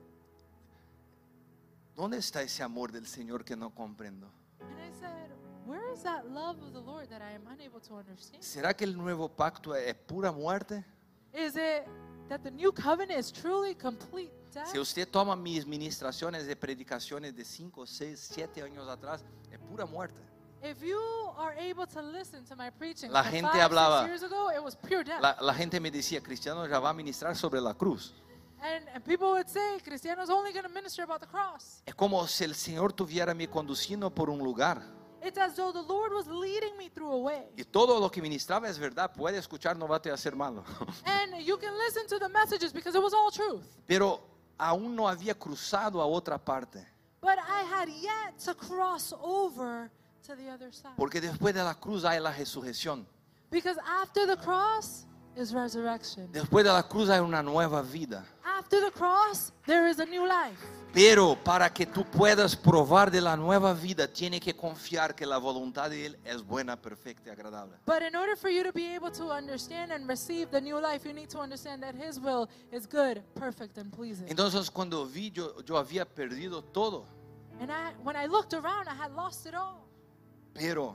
¿dónde está ese amor del Señor que no comprendo? And I said, where is that love of the Lord that I am unable to understand? ¿Será que el nuevo pacto es pura muerte? Is it that the new covenant is truly complete death? Si usted toma mis ministraciones de predicaciones de cinco, seis, siete años atrás, es pura muerte. If you are able to listen to my preaching La from gente five, hablaba- six years ago, it was pure death. La, la gente me decía, Cristiano ya va a ministrar sobre la cruz. and, and people would say, Cristiano's only going to minister about the cross. Es como si el Señor tuviera me conduciendo por un lugar. It's as though the Lord was leading me through a way. Y todo lo que ministraba es verdad. Puede escuchar, no va a te hacer malo. And you can listen to the messages because it was all truth. Pero aún no había cruzado a otra parte. But I had yet to cross over to the other side. Porque después de la cruz hay la resurrección. Because after the cross is resurrection. Después de la cruz hay una nueva vida. After the cross, there is a new life. Pero para que tú puedas probar de la nueva vida, tienes que confiar que la voluntad de Él es buena, perfecta y agradable. But in order for you to be able to understand and receive the new life, you need to understand that His will is good, perfect, and pleasing. Entonces cuando vi, yo, yo había perdido todo. And I, when I looked around, I had lost it all. Pero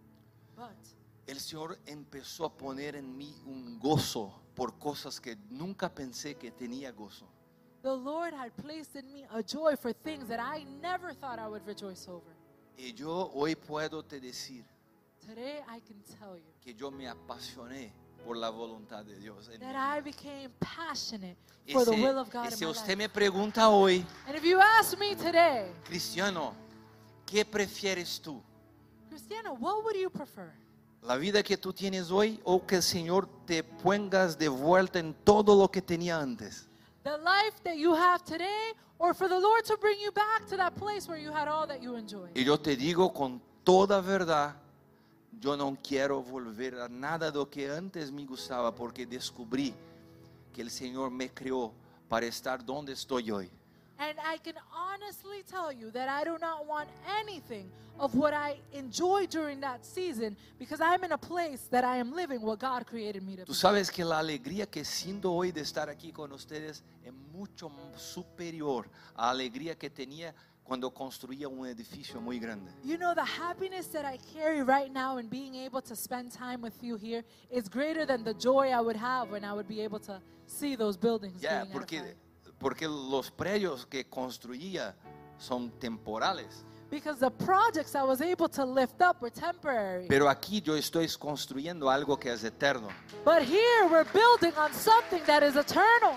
But el Señor empezó a poner en mí un gozo por cosas que nunca pensé que tenía gozo. the Lord had placed in me a joy for things that I never thought I would rejoice over. Y yo hoy puedo te decir Today, I can tell you que yo me apasioné por la voluntad de Dios en that mi I vida. became passionate Y for the si, will of God y in si my usted life. me pregunta hoy, And if you ask me today, Cristiano, ¿qué prefieres tú? Christiana, what would you prefer? ¿La vida que tú tienes hoy o que el Señor te pongas de vuelta en todo lo que tenía antes? The life that you have today, or for the Lord to bring you back to that place where you had all that you enjoyed? Y yo te digo con toda verdad, yo no quiero volver a nada de lo que antes me gustaba porque descubrí que el Señor me creó para estar donde estoy hoy. And I can honestly tell you that I do not want anything of what I enjoyed during that season, because I'm in a place that I am living what God created me to Tú be. sabes que la alegría que siento hoy de estar aquí con ustedes es mucho superior a la alegría que tenía cuando construía un edificio muy grande. You know, the happiness that I carry right now in being able to spend time with you here is greater than the joy I would have when I would be able to see those buildings Ya, being porque, edified. porque los predios que construía son temporales. Because the projects I was able to lift up were temporary. Pero aquí yo estoy construyendo algo que es eterno. But here we're building on something that is eternal.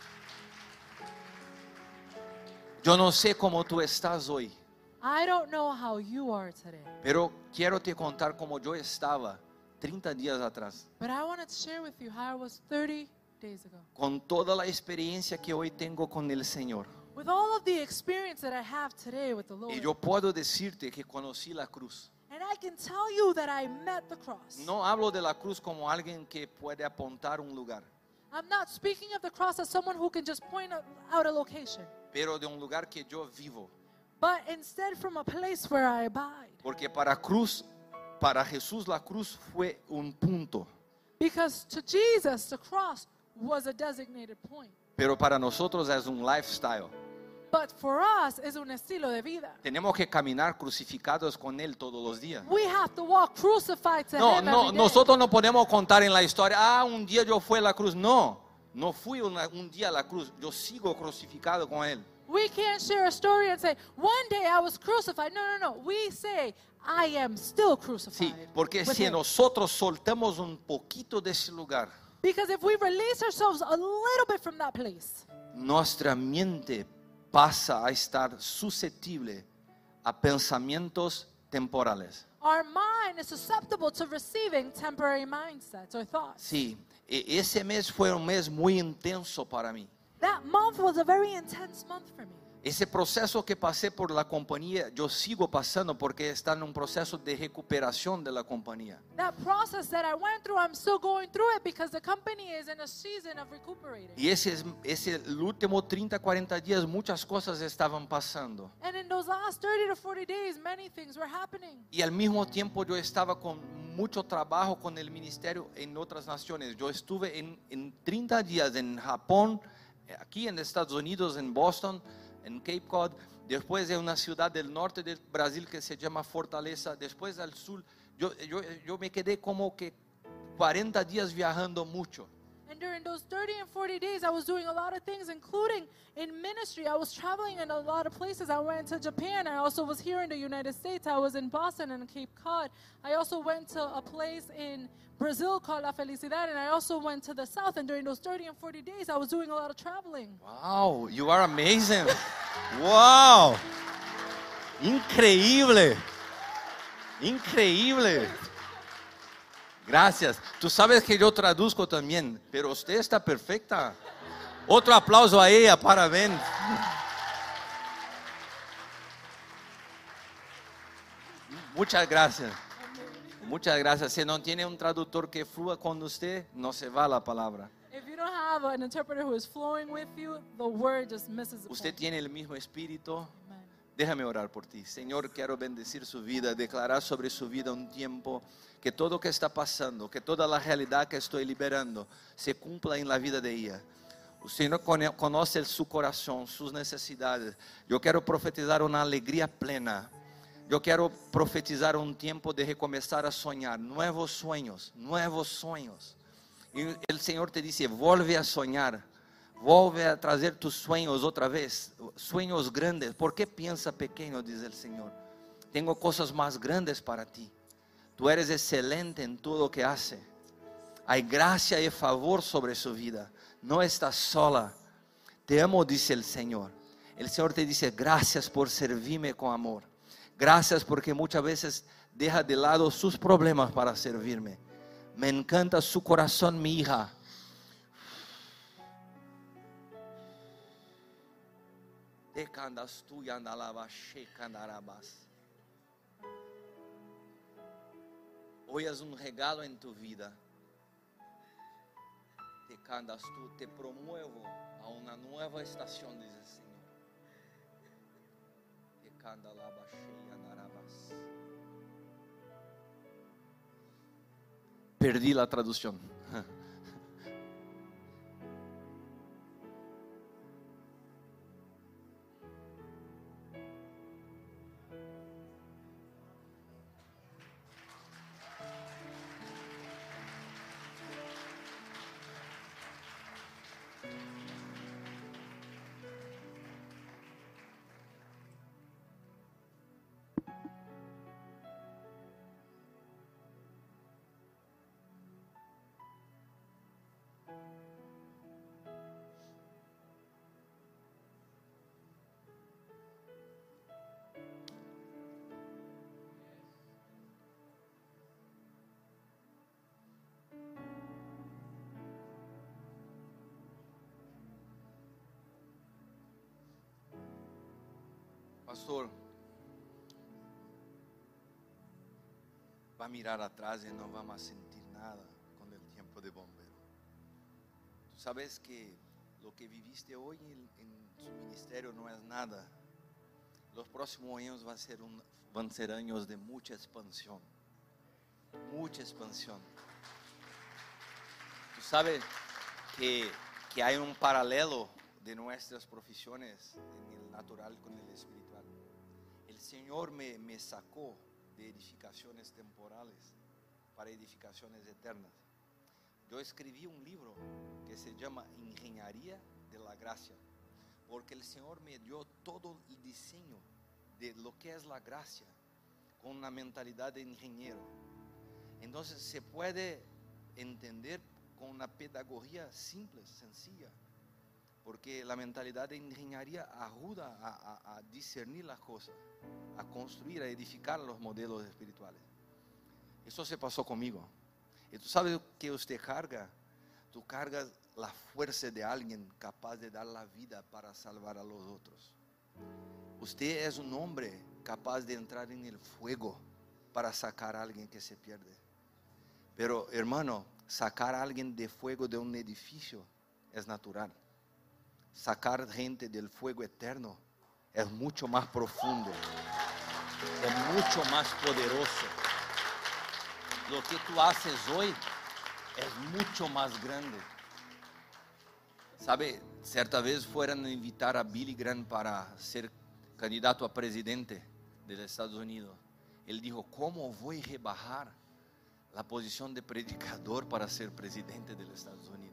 Yo no sé cómo tú estás hoy, I don't know how you are today, pero quiero te contar cómo yo estaba treinta días atrás. but I want to share with you how I was thirty days ago. Con toda la experiencia que hoy tengo con el Señor. With all of the experience that I have today with the Lord. Y yo puedo decirte que conocí la cruz. And I can tell you that I met the cross. No hablo de la cruz como alguien que puede apuntar un lugar, I'm not speaking of the cross as someone who can just point out a location, pero de un lugar que yo vivo. but instead from a place where I abide. Porque para cruz, para Jesús la cruz fue un punto, Because to Jesus, the cross was a designated point. pero para nosotros es un lifestyle. But for us, es un estilo de vida. Tenemos que caminar crucificados con Él todos los días. We have to walk crucified to No, Him no, every day. nosotros no podemos contar en la historia, ah, un día yo fui a la cruz. No, no fui una- un día a la cruz, yo sigo crucificado con Él. We can't share a story and say, one day I was crucified. No, no, no. We say, I am still crucified. Sí, porque with si Him. nosotros soltamos un poquito de ese lugar, Because if we release ourselves a little bit from that place, nuestra mente pasa a estar susceptible a pensamientos temporales. our mind is susceptible to receiving temporary mindsets or thoughts. Sí, e- ese mes fue un mes muy intenso para mí. That month was a very intense month for me. Ese proceso que pasé por la compañía, yo sigo pasando porque está en un proceso de recuperación de la compañía. That process that I went through, I'm still going through it because the company is in a season of recuperating. Y ese, es- ese el último treinta, cuarenta días muchas cosas estaban pasando. And in those last thirty to forty days, many things were happening. Y al mismo tiempo yo estaba con mucho trabajo con el ministerio en otras naciones. Yo estuve en, en treinta días en Japón, aquí en Estados Unidos, en Boston, en Cape Cod, después de una ciudad del norte del Brasil que se llama Fortaleza, después al sur. Yo, yo, yo me quedé como que cuarenta días viajando mucho. And during those thirty and forty days, I was doing a lot of things, including in ministry. I was traveling in a lot of places. I went to Japan. I also was here in the United States. I was in Boston and Cape Cod. I also went to a place in Brazil called La Felicidad. And I also went to the South. And during those thirty and forty days, I was doing a lot of traveling. Wow, you are amazing. Wow. Increíble. Increíble. Gracias. Tú sabes que yo traduzco también, pero usted está perfecta. Otro aplauso a ella, parabéns. Muchas gracias. Muchas gracias. Si no tiene un traductor que flúa con usted, no se va la palabra. If you don't have an interpreter who is flowing with you, the word just misses the Usted point. tiene el mismo espíritu. Amen. Déjame orar por ti. Señor, quiero bendecir su vida, declarar sobre su vida un tiempo que todo lo que está pasando, que toda la realidad que estoy liberando se cumpla en la vida de ella. O Señor cono- conoce su corazón, sus necesidades. Yo quiero profetizar una alegría plena. Yo quiero profetizar un tiempo de recomenzar a soñar, nuevos sueños, nuevos sueños. Y el Señor te dice, vuelve a soñar. Vuelve a trazer tus sueños otra vez, sueños grandes. ¿Por qué piensa pequeño? Dice el Señor. Tengo cosas más grandes para ti. Tú eres excelente en todo lo que hace. Hay gracia y favor sobre su vida. No estás sola. Te amo, dice el Señor. El Señor te dice, gracias por servirme con amor. Gracias porque muchas veces deja de lado sus problemas para servirme. Me encanta su corazón, mi hija. Hoy es un regalo en tu vida. Te candas tú, te promuevo a una nueva estación, dice el Señor. Te canda la Perdí la traducción. Pastor, va a mirar atrás y no vamos a sentir nada con el tiempo de bombero. Tú sabes que lo que viviste hoy en, en su ministerio no es nada. Los próximos años van a ser, un, van a ser años de mucha expansión, mucha expansión. Tú sabes que, que hay un paralelo de nuestras profesiones en el natural con el espiritual. El Señor me, me sacó de edificaciones temporales para edificaciones eternas. Yo escribí un libro que se llama Ingeniería de la Gracia, porque el Señor me dio todo el diseño de lo que es la gracia con una mentalidad de ingeniero. Entonces se puede entender con una pedagogía simple, sencilla, porque la mentalidad de ingeniería ayuda a, a, a discernir las cosas, a construir, a edificar los modelos espirituales. Eso se pasó conmigo. Y tú sabes que usted carga, tú cargas la fuerza de alguien capaz de dar la vida para salvar a los otros. Usted es un hombre capaz de entrar en el fuego para sacar a alguien que se pierde. Pero hermano, sacar a alguien de fuego de un edificio es natural. Sacar gente del fuego eterno es mucho más profundo, es mucho más poderoso. Lo que tú haces hoy es mucho más grande. ¿Sabe? Cierta vez fueron a invitar a Billy Graham para ser candidato a presidente de los Estados Unidos. Él dijo, ¿cómo voy a rebajar la posición de predicador para ser presidente de los Estados Unidos?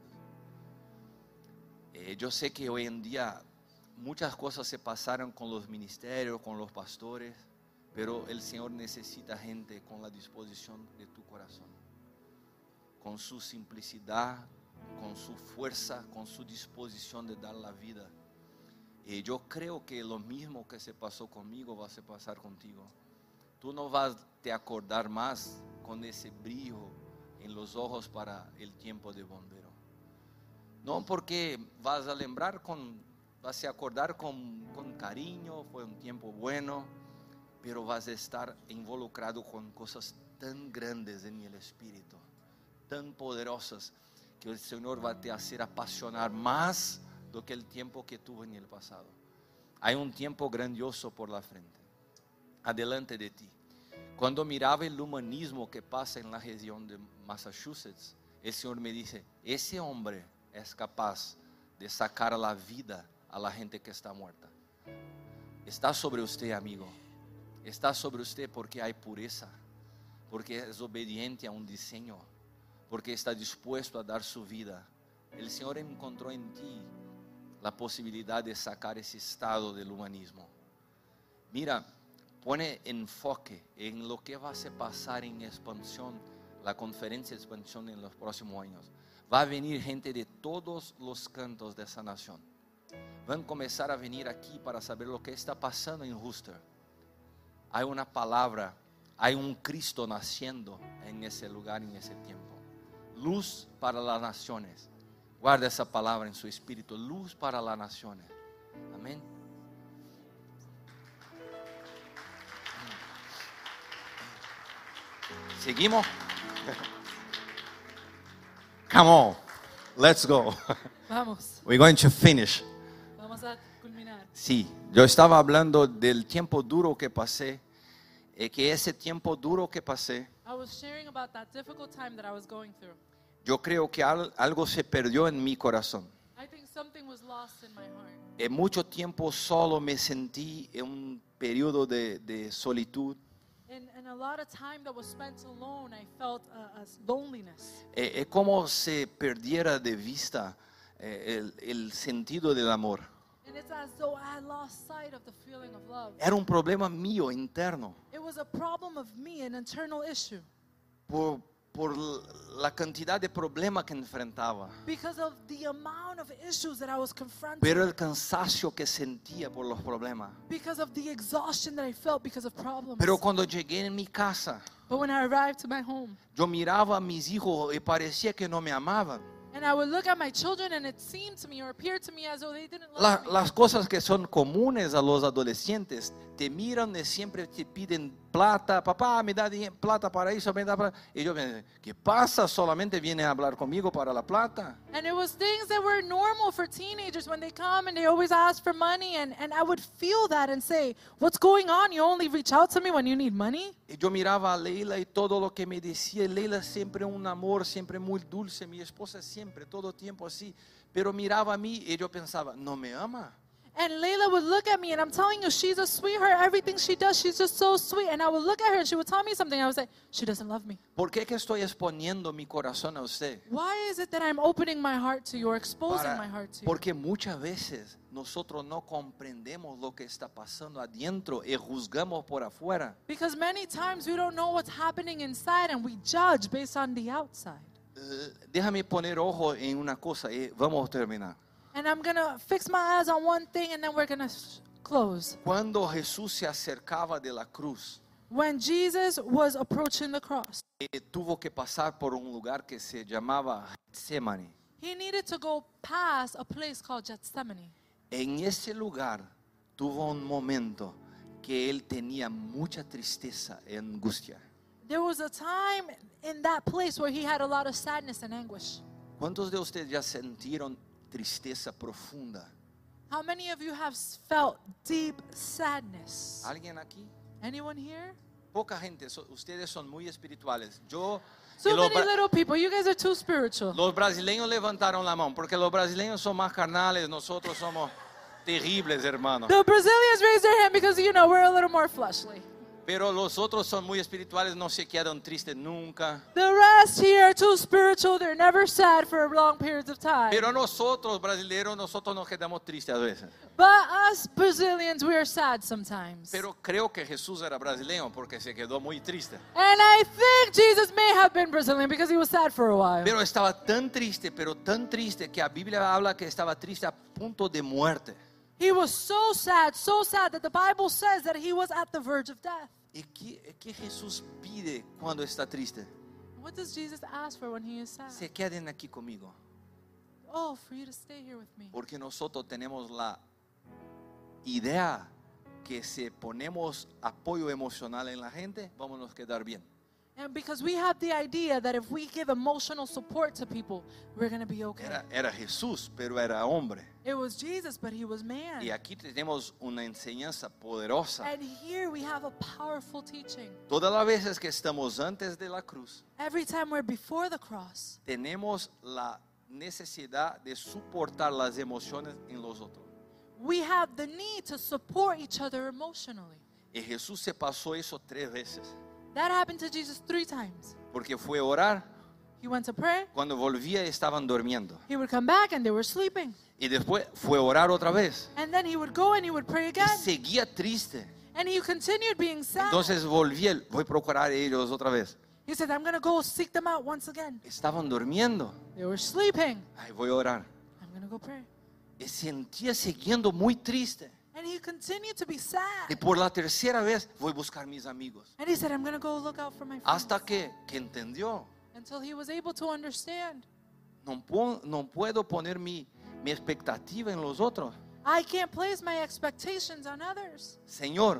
Eh, yo sé que hoy en día muchas cosas se pasaron con los ministerios, con los pastores, pero el Señor necesita gente con la disposición de tu corazón, con su simplicidad, con su fuerza, con su disposición de dar la vida. Y yo creo que lo mismo que se pasó conmigo va a se pasar contigo. Tú no vas a te acordar más con ese brillo en los ojos para el tiempo de bombero. No porque vas a lembrar con, vas a acordar con, con cariño, fue un tiempo bueno, pero vas a estar involucrado con cosas tan grandes en el Espíritu, tan poderosas, que el Señor va a te hacer apasionar más do que el tiempo que tuvo en el pasado. Hay un tiempo grandioso por la frente, adelante de ti. Cuando miraba el humanismo que pasa en la región de Massachusetts, el Señor me dice, ese hombre es capaz de sacar la vida a la gente que está muerta. Está sobre usted, amigo. Está sobre usted porque hay pureza, porque es obediente a un diseño, porque está dispuesto a dar su vida. El Señor encontró en ti la posibilidad de sacar ese estado del humanismo. Mira, pone enfoque en lo que va a pasar en expansión, la conferencia de expansión en los próximos años. Va a venir gente de todos los cantos de esa nación. Van a comenzar a venir aquí para saber lo que está pasando en Worcester. Hay una palabra, hay un Cristo naciendo en ese lugar, en ese tiempo. Luz para las naciones. Guarda esa palabra en su espíritu. Luz para las naciones. Amén. Seguimos. Come on. Let's go. Vamos, We're going to finish. vamos a culminar. Sí, yo estaba hablando del tiempo duro que pasé. Y que ese tiempo duro que pasé, I was sharing about that difficult time that I was going through. yo creo que al- algo se perdió en mi corazón. I think something was lost in my heart. En mucho tiempo solo me sentí en un periodo de, de solitud. And, and a lot of time that was spent alone, I felt a, a loneliness. Eh, Es como se perdiera de vista eh, el, el sentido del amor. And it's as though I had lost sight of the feeling of love. Era un problema mío interno It was a problem of me, an internal issue, por, por la cantidad de problemas que enfrentaba. because of the amount of issues that I was confronting, Pero el cansancio que sentía por los problemas. because of the exhaustion that I felt because of problems. Pero cuando llegué en mi casa, But when I arrived to my home, yo miraba a mis hijos y parecía que no me amaban. and I would look at my children, and it seemed to me or appeared to me as though they didn't love La- me. las cosas que son comunes a los adolescentes, te miran y siempre te piden plata, papá, me da di- plata para eso, me da plata. Y yo me decía, ¿qué pasa? Solamente viene a hablar conmigo para la plata. And it was things that were normal for teenagers when they come and they always ask for money. And, and I would feel that and say, what's going on? You only reach out to me when you need money? Y yo miraba a Leila y todo lo que me decía. Leila siempre un amor, siempre muy dulce. Mi esposa siempre, todo tiempo así. Pero miraba a mí y yo pensaba, no me ama. And Layla would look at me, and I'm telling you, she's a sweetheart. Everything she does, she's just so sweet. And I would look at her, and she would tell me something. I would say, she doesn't love me. ¿Por qué que estoy exponiendo mi corazón a usted? Why is it that I'm opening my heart to you or exposing Para- my heart to you? porque muchas veces nosotros no comprendemos lo que está pasando adentro y juzgamos por afuera. Because many times we don't know what's happening inside, and we judge based on the outside. Eh, déjame poner ojo en una cosa y vamos a terminar. And I'm going to fix my eyes on one thing, and then we're going to close. Cuando Jesús se acercaba de la cruz, When Jesus was approaching the cross, eh, tuvo que pasar por un lugar que se llamaba Getsemaní. he needed to go past a place called Gethsemane. En ese lugar tuvo un momento que él tenía mucha tristeza y angustia. There was a time in that place where he had a lot of sadness and anguish. ¿Cuántos de ustedes ya sintieron tristeza profunda? How many of you have s- felt deep sadness? ¿Alguien aquí? Anyone here? Poca gente, so- ustedes son muy espirituales. Yo, y So los, many bra- little people. You guys are too spiritual. los brasileños levantaron la mano, porque los brasileños son más carnales, nosotros somos terribles, hermanos. The Brazilians raised their hand because, you know, we're a little more fleshly. Pero los otros son muy espirituales, no se quedan tristes nunca. The rest here are too spiritual. They're never sad for long periods of time. Pero nosotros, brasileños, nosotros nos quedamos tristes a veces. But us Brazilians, we are sad sometimes. Pero creo que Jesús era brasileño porque se quedó muy triste. And I think Jesus may have been Brazilian because he was sad for a while. Pero estaba tan triste, pero tan triste que la Biblia habla que estaba triste a punto de muerte. He was so sad, so sad that the Bible says that he was at the verge of death. ¿Y qué, qué Jesús pide cuando está triste? What does Jesus ask for when he is sad? Se queden aquí conmigo, Oh, for you to stay here with me. porque nosotros tenemos la idea que si ponemos apoyo emocional en la gente, vamos a quedar bien. And because we have the idea that if we give emotional support to people, we're going to be okay. Era, era Jesús, pero era hombre. It was Jesus, but he was man. Y aquí tenemos una enseñanza poderosa. And here we have a powerful teaching. Todas las veces que estamos antes de la cruz, Every time we're before the cross, tenemos la necesidad de soportar las emociones en los otros. we have the need to support each other emotionally. Y Jesús se pasó eso tres veces. That happened to Jesus three times. Porque fue a orar, He went to pray, cuando volvía estaban durmiendo. he would come back, and they were sleeping. Y después fue a orar otra vez. And then he would go and he would pray Y again. seguía triste. And he continued being sad. Entonces volví, voy a procurar a ellos otra vez. He said, I'm going to go seek them out once again. Estaban durmiendo. They were sleeping. Ay, voy a orar. I'm going to go pray. Y sentía siguiendo muy triste. And he continued to be sad. Y por la tercera vez voy a buscar mis amigos. And he said, I'm going to go look out for my friends. Hasta que, que entendió. Until he was able to understand. No, po- no puedo poner mi, mi expectativa en los otros. I can't place my expectations on others. Señor,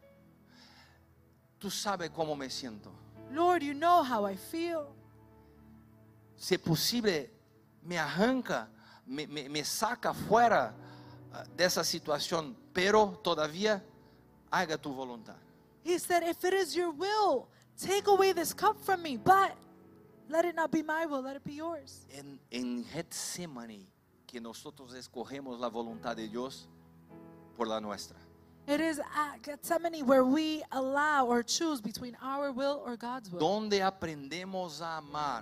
tú sabes cómo me siento. Lord, you know how I feel. Si es posible, me arranca, me, me, me saca fuera uh, de esa situación, pero todavía haga tu voluntad. He said, if it is your will, take away this cup from me, but let it not be my will, let it be yours. En, en Getsemaní, que nosotros escogemos la voluntad de Dios por la nuestra. It is at Gethsemane where we allow or choose between our will or God's will. Donde aprendemos a amar,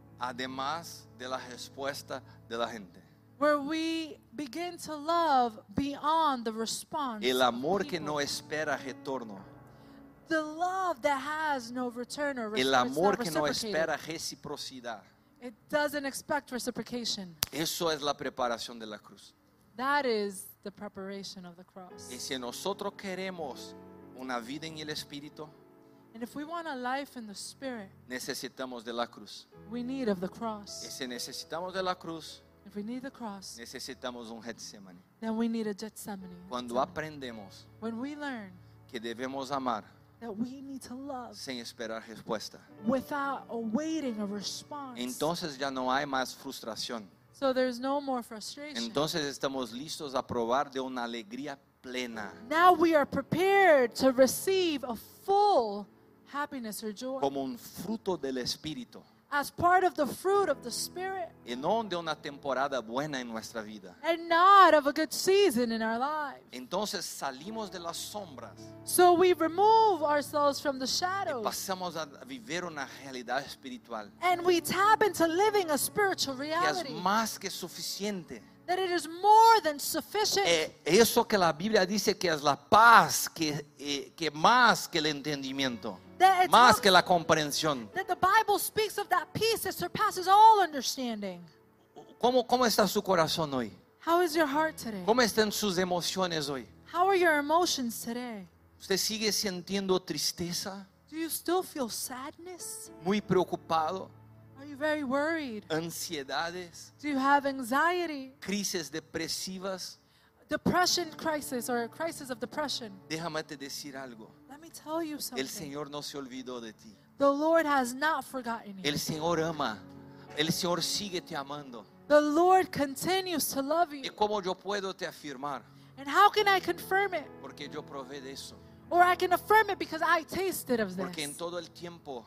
además de la respuesta de la gente. Where we begin to love beyond the response. El of amor que people. no espera retorno. The love that has no return or El response. amor que no espera reciprocidad. It doesn't expect reciprocation. Eso es la preparación de la cruz. That is the preparation of the cross. Y si nosotros queremos una vida en el Espíritu, And if we want a life in the Spirit, necesitamos de la cruz. we need of the Y cross. si necesitamos de la cruz, If we need the cross, necesitamos un Getsemaní. then we need a Gethsemane. Cuando aprendemos When we learn que debemos amar that we need to love sin esperar respuesta, without awaiting a response, entonces ya no hay más frustración. so there's no more frustration. Entonces estamos listos a probar de una alegría plena, Now we are prepared to receive a full happiness or joy como un fruto del Espíritu, as part of the fruit of the Spirit y no de una temporada buena en nuestra vida. and not of a good season in our lives. Entonces salimos de las sombras So we remove ourselves from the y shadows pasamos a vivir una realidad espiritual and we tap into living a spiritual que es reality más que suficiente. that it is more than sufficient. Eh, eso que la Biblia dice que es la paz, que, eh, que más que el entendimiento, That, it más talks- que la comprensión. that the Bible speaks of that peace that surpasses all understanding. ¿Cómo, cómo está su corazón hoy? How is your heart today? ¿Cómo están sus emociones hoy? How are your emotions today? ¿Usted sigue sintiendo tristeza? Do you still feel sadness? ¿Muy preocupado? Are you very worried? ¿Ansiedades? Do you have anxiety? ¿Crisis depresivas? Depression crisis or a crisis of depression? Déjame te decir algo. Let me tell you something. El Señor no se olvidó de ti. The Lord has not forgotten you. El Señor ama. El Señor sigue te amando. The Lord continues to love ¿Y you. cómo yo puedo te afirmar? And how can I confirm it? Porque yo probé de eso. Or I can affirm it because I tasted of Porque en this. todo el tiempo,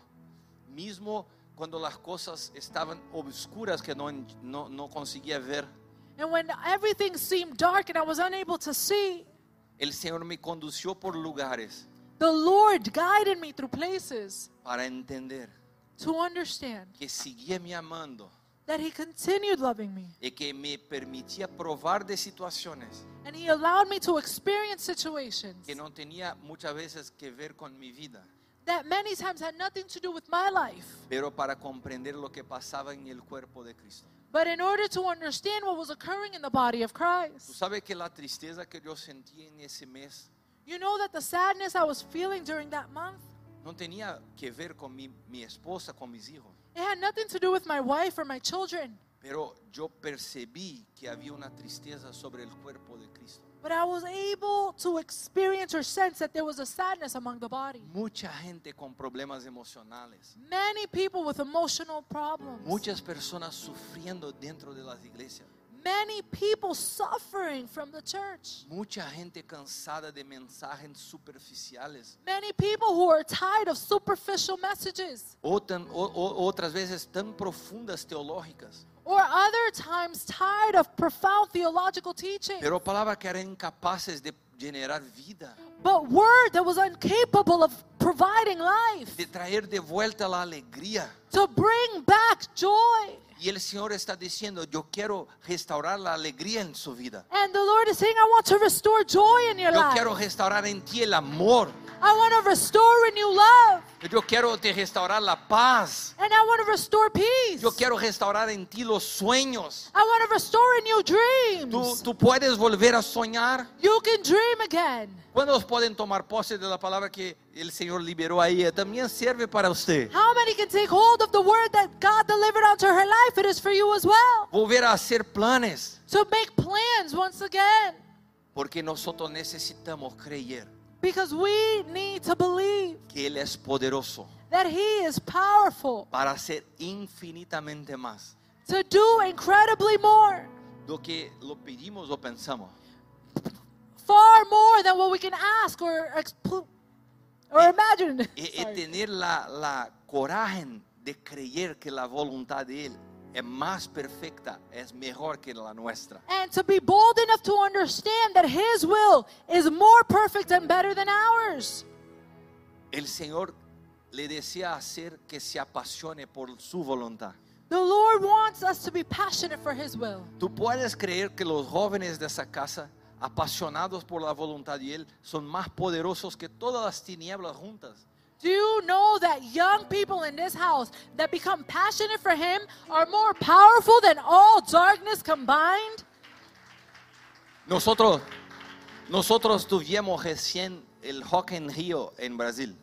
mismo cuando las cosas estaban obscuras que no, no, no conseguía ver, And when everything seemed dark and I was unable to see, el Señor me condució por lugares the Lord guided me through places para entender to understand que seguía me amando that He continued loving me. y que me permitía probar de situaciones And He allowed me to experience situations que no tenía muchas veces que ver con mi vida, that many times had nothing to do with my life. pero para comprender lo que pasaba en el cuerpo de Cristo. But in order to understand what was occurring in the body of Tú Christ, sabes que la tristeza que yo sentí en ese mes you know that the sadness I was feeling during that month, no tenía que ver con mi, mi esposa, con mis hijos, it had nothing to do with my wife or my children, Pero yo percibí que había una tristeza sobre el cuerpo de Cristo. But I was able to experience or sense that there was a sadness among the body. Mucha gente con problemas emocionales. Many people with emotional problems. Muchas personas sufriendo dentro de las iglesias. Many people suffering from the church. Mucha gente cansada de mensajes superficiales. Many people who are tired of superficial messages. O tan- o- o- otras veces tan profundas teológicas. Or other times tired of profound theological teaching. Pero palabras que eran incapaces de generar vida. But word that was incapable of providing life. De traer de vuelta la alegría. To bring back joy. Y el Señor está diciendo, yo quiero restaurar la alegría en su vida. And the Lord is saying, I want to restore joy in your Yo life. quiero restaurar en ti el amor. I want to restore in you love. Yo quiero te restaurar la paz. And I want to restore peace. Yo quiero restaurar en ti los sueños. I want to restore in you Tú, dreams. tú puedes volver a soñar. You can dream again. ¿Cuántos pueden tomar pose de la palabra que el Señor liberó a ella? También sirve para usted. How many can take hold of the word that God delivered unto her life? It is for you as well. Volver a hacer planes. So make plans once again. Porque nosotros necesitamos creer Because we need to believe que Él es poderoso that He is powerful para hacer infinitamente más to do incredibly more. do que lo pedimos o pensamos. Far more than what we can ask or, expl- or imagine. Y, y Sorry. tener la, la coraje de creer que la voluntad de Él es más perfecta, es mejor que la nuestra. And to be bold enough to understand that His will is more perfect and better than ours. El Señor le desea hacer que se apasione por su voluntad. The Lord wants us to be passionate for His will. Tú puedes creer que los jóvenes de esa casa, apasionados por la voluntad de Él, son más poderosos que todas las tinieblas juntas. Do you know that young people in this house that become passionate for Him are more powerful than all darkness combined? Nosotros, nosotros tuvimos recién el Rock in Rio en Brasil.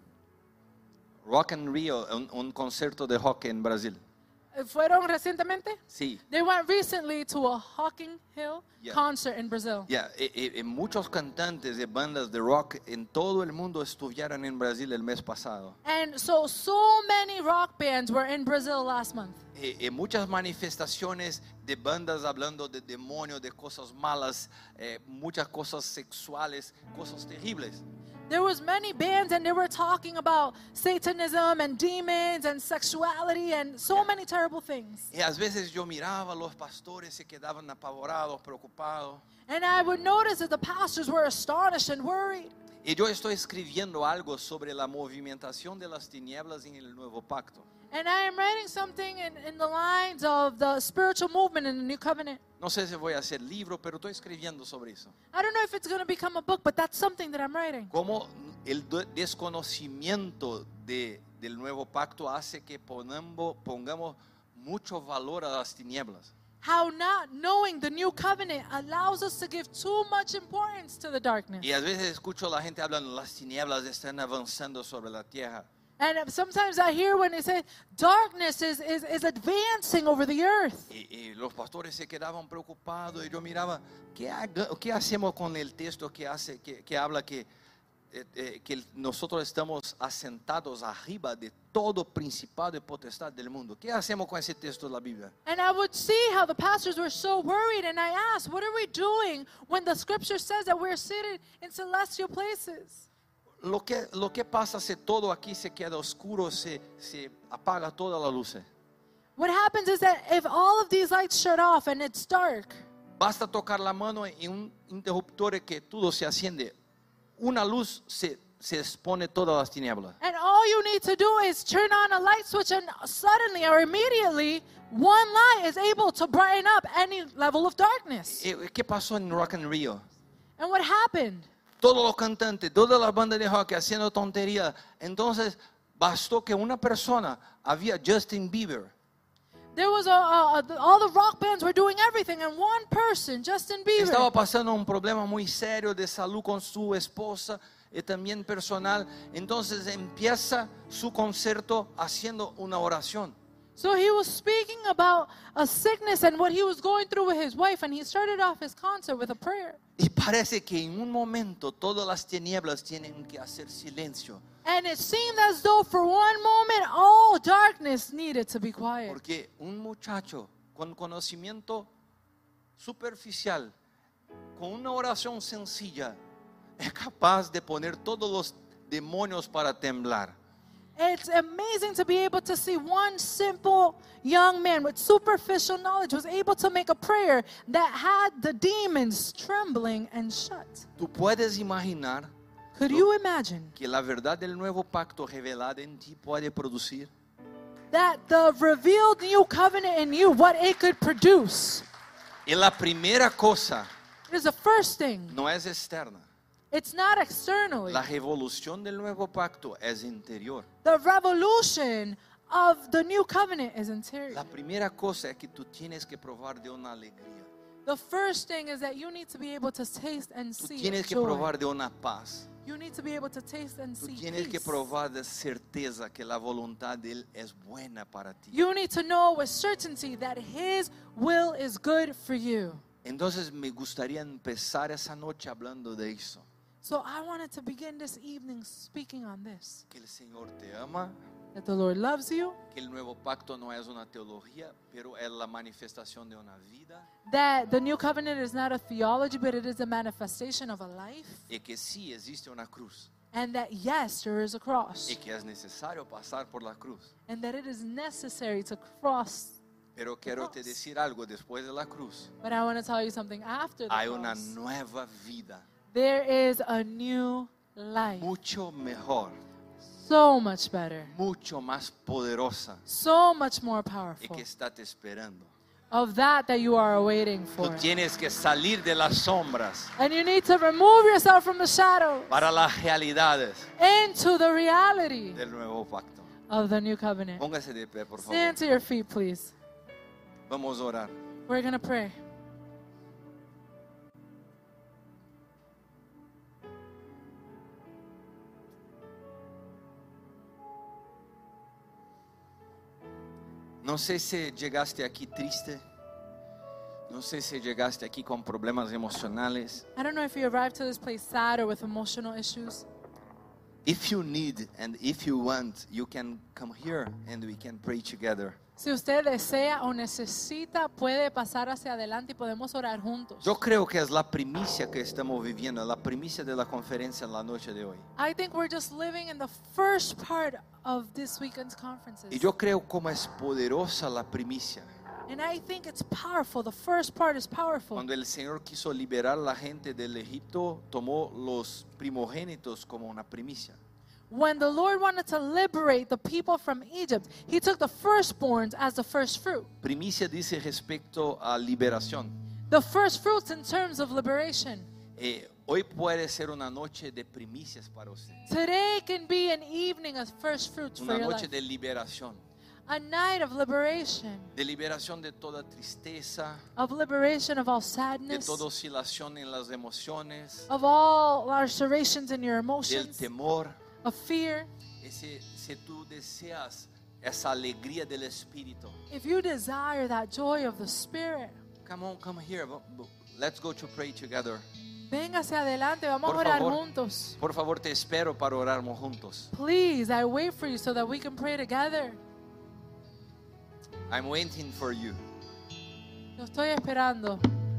Rock in Rio, un, un concierto de rock en Brasil. ¿Fueron recientemente? Sí. They went recently to a Hocking Hill Yeah. concert in Brazil. Ya, eh, eh, muchos cantantes de bandas de rock en todo el mundo estuvieron en Brasil el mes pasado. And so, so many rock bands were in Brazil last month. Eh, eh, muchas manifestaciones de bandas hablando de demonios, de cosas malas, eh, muchas cosas sexuales, cosas terribles. There was many bands and they were talking about Satanism and demons and sexuality and so many terrible things. Y a veces yo miraba a los pastores se quedaban apavorados, preocupados. And I would notice that the pastors were astonished and worried. Y yo estoy escribiendo algo sobre la movimentación de las tinieblas en el nuevo pacto. And I am writing something in, in the lines of the spiritual movement in the New Covenant. No sé si voy a hacer libro, pero estoy escribiendo sobre eso. I don't know if it's going to become a book, but that's something that I'm writing. Cómo el do- desconocimiento de, del nuevo pacto hace que ponamos, pongamos mucho valor a las tinieblas. How not knowing the New Covenant allows us to give too much importance to the darkness. Y a veces escucho a la gente hablando, las tinieblas están avanzando sobre la tierra. And sometimes I hear when they say darkness is, is, is advancing over the earth. Y, y los pastores se quedaban preocupados y yo miraba, ¿qué, haga- qué hacemos con el texto que, hace, que, que habla que, eh, eh, que nosotros estamos asentados arriba de todo principado y potestad del mundo? ¿Qué hacemos con ese texto de la Biblia? And I would see how the pastors were so worried, and I asked, what are we doing when the scripture says that we're seated in celestial places? Lo que, lo que pasa si todo aquí se queda oscuro, se, se apaga toda la luz. What happens is that if all of these lights shut off and it's dark, Basta tocar la mano en un interruptor que todo se enciende. Una luz se, se expone todas las tinieblas. and all you need to do is turn on a light switch, and suddenly or immediately, one light is able to brighten up any level of darkness. Eh, ¿Qué pasó en Rock in Rio? And what happened? Todos los cantantes, todas las bandas de rock haciendo tonterías. Entonces bastó que una persona, había Justin Bieber, There was a, a, a all the rock bands were doing everything, and one person, Justin Bieber, estaba pasando un problema muy serio de salud con su esposa y también personal. Entonces empieza su concierto haciendo una oración. So he was speaking about a sickness and what he was going through with his wife, and he started off his concert with a prayer. Y parece que en un momento todas las tinieblas tienen que hacer silencio. And it seemed as though for one moment all darkness needed to be quiet. Porque un muchacho con conocimiento superficial, con una oración sencilla, es capaz de poner todos los demonios para temblar. It's amazing to be able to see one simple young man with superficial knowledge was able to make a prayer that had the demons trembling and shut. Tú puedes imaginar Could you imagine que la verdad del nuevo pacto revelada en ti puede producir. that the revealed new covenant in you, what it could produce? Y la primera cosa Is the first thing. no es externa. It's not externally. La revolución del nuevo pacto es interior. The revolution of the new covenant is interior. La primera cosa es que tú tienes que probar de una alegría. The first thing is that you need to be able to taste and Tú see tienes que joy. probar de una paz. You need to be able to taste and Tú see tienes que peace. probar de certeza que la voluntad de Él es buena para ti. You need to know with certainty that His will is good for you. Entonces me gustaría empezar esa noche hablando de eso. So I wanted to begin this evening speaking on this. Que el Señor te ama, That the Lord loves you, que el nuevo pacto no es una teología, pero es la manifestación de una vida. that the new covenant is not a theology, but it is a manifestation of a life, Y que sí existe una cruz. and that yes, there is a cross, Y que es necesario pasar por la cruz. and that it is necessary to cross. Pero quiero te decir algo, después de la cruz But I want to tell you something after the hay una cross. nueva vida, There is a new life, mucho mejor, so much better, mucho más poderosa so much more y powerful, que está te esperando. of that that you are awaiting Tú for. tienes que salir de las sombras And you need to remove yourself from the shadow para las realidades into the reality del nuevo pacto. of the new covenant. Póngase de pie, por favor. Stand to your feet, please. Vamos a orar. We're going to pray. No sé si llegaste aquí triste. No sé si llegaste aquí con problemas emocionales. I don't know if you arrived to this place sad or with emotional issues. If you need and if you want, you can come here and we can pray together. Si usted desea o necesita, puede pasar hacia adelante y podemos orar juntos. Yo creo que es la primicia que estamos viviendo, la primicia de la conferencia en la noche de hoy. I think we're just living in the first part of this weekend's conferences. Y yo creo como es poderosa la primicia. And I think it's powerful. The first part is powerful. Cuando el Señor quiso liberar a la gente del Egipto, tomó los primogénitos como una primicia. When the Lord wanted to liberate the people from Egypt, He took the firstborns as the first fruit. Primicia dice respecto a liberación. The first fruits in terms of liberation. Eh, hoy puede ser una noche de primicias para usted. Today can be an evening of first fruits for Una your noche life. de liberación. A night of liberation. De liberación de toda tristeza, Of liberation of all de sadness. toda oscilación en las emociones, Of all lacerations in your del emotions. temor. Of fear. Y si, si tú deseas esa alegría del Espíritu, If you desire that joy of the Spirit, come on, come here. Vo- vo- Let's go to pray together. venga hacia adelante. Vamos Por a orar favor. juntos. Por favor, te espero para orarmos juntos. Please, I wait for you so that we can pray together. I'm waiting for you. Lo estoy esperando.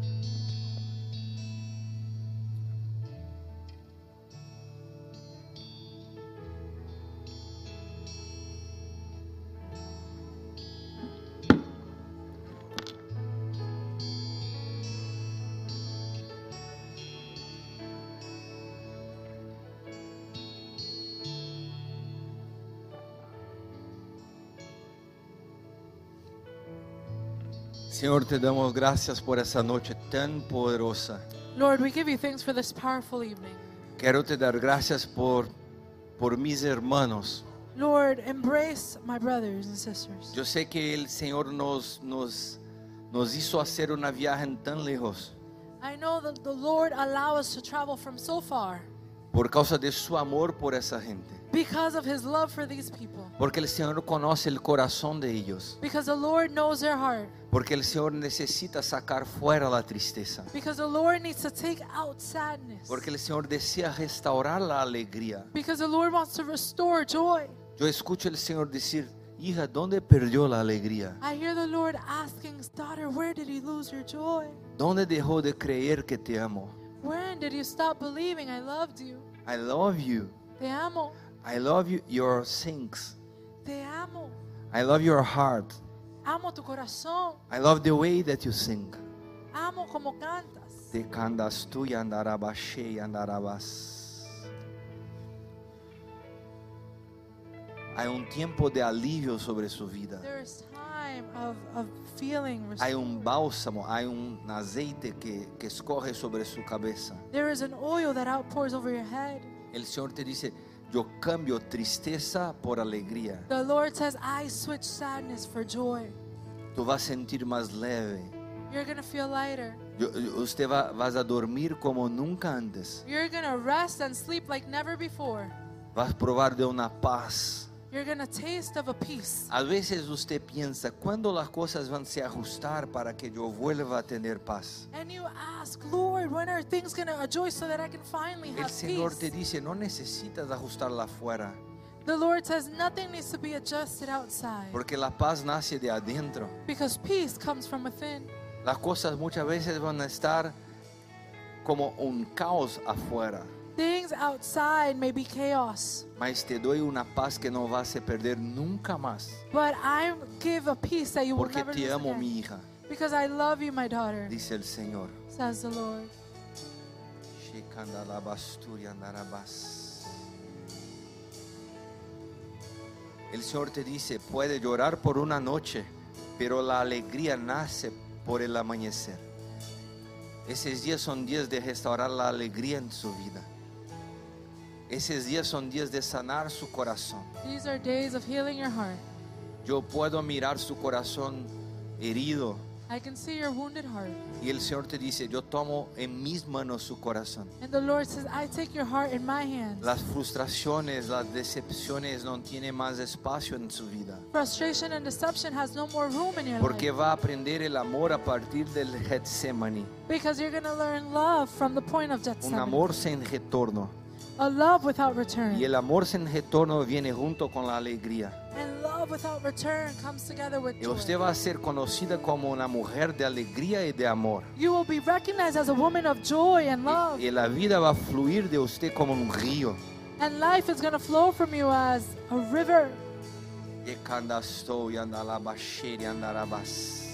Señor, te damos gracias por esa noche tan poderosa. Lord, we give you thanks for this powerful evening. Quiero te dar gracias por, por mis hermanos. Lord, embrace my brothers and sisters. Yo sé que el Señor nos, nos, nos hizo hacer una viaje tan lejos. I know that the Lord allowed us to travel from so far. por causa de su amor por esa gente. because of his love for these people. Porque el Señor conoce el corazón de ellos. Because the Lord knows their heart. Porque el Señor necesita sacar fuera la tristeza. Because the Lord needs to take out sadness. Porque el Señor desea restaurar la alegría. Because the Lord wants to restore joy. Yo escucho al Señor decir, hija, ¿dónde perdió la alegría? I hear the Lord asking, daughter, where did you lose your joy? ¿Dónde dejó de creer que te amo? When did you stop believing I loved you? I love you. Te amo. I love you, your sings. Te amo. I love your heart. Amo tu corazón. I love the way that you sing. Amo como cantas. Te cantas tú y andarabas y andarabas. Hay un tiempo de alivio sobre su vida. There is time of, of feeling Hay restored. un bálsamo, hay un aceite que, que escorre sobre su cabeza. There is an oil that outpours over your head. El Señor te dice, yo cambio tristeza por alegría. The Lord says, I switch sadness for joy. Tú vas a sentir más leve. You're going to feel lighter. Yo- usted va vas a dormir como nunca antes. You're going to rest and sleep like never before. Vas a probar de una paz. You're going to taste of a peace. A veces usted piensa, ¿cuándo las cosas van a se ajustar para que yo vuelva a tener paz? And you ask, Lord, when are things going to adjust so that I can finally El have Señor peace? te dice, no necesitas ajustarla afuera, The Lord says nothing needs to be adjusted outside porque la paz nace de adentro. because peace comes from within. Las cosas muchas veces van a estar como un caos afuera, Things outside may be chaos, mas te doy una paz que no vas a perder nunca más, but I give a peace that you will porque never te lose amo, again. mi hija, Because I love you, my daughter, dice el Señor. says the Lord. El Señor te dice, puede llorar por una noche, pero la alegría nace por el amanecer. Esos días son días de restaurar la alegría en su vida. Esos días son días de sanar su corazón. These are days of healing your heart. Yo puedo mirar su corazón herido I can see your wounded heart. y el Señor te dice, yo tomo en mis manos su corazón. And the Lord says, I take your heart in my hands. Las frustraciones, las decepciones no tienen más espacio en su vida. Frustration and deception has no more room in your Porque life. va a aprender el amor a partir del Getsemaní. Because you're going to learn love from the point of Un Gethsemane. amor sin retorno. A love without return. Y el amor sin retorno viene junto con la alegría. And love without return comes together with Y usted joy. va a ser conocida como una mujer de alegría y de amor. You will be recognized as a woman of joy and love. Y la vida va a fluir de usted como un río. And life is going to flow from you as a river. Y candasto y andalabashe y andarabas.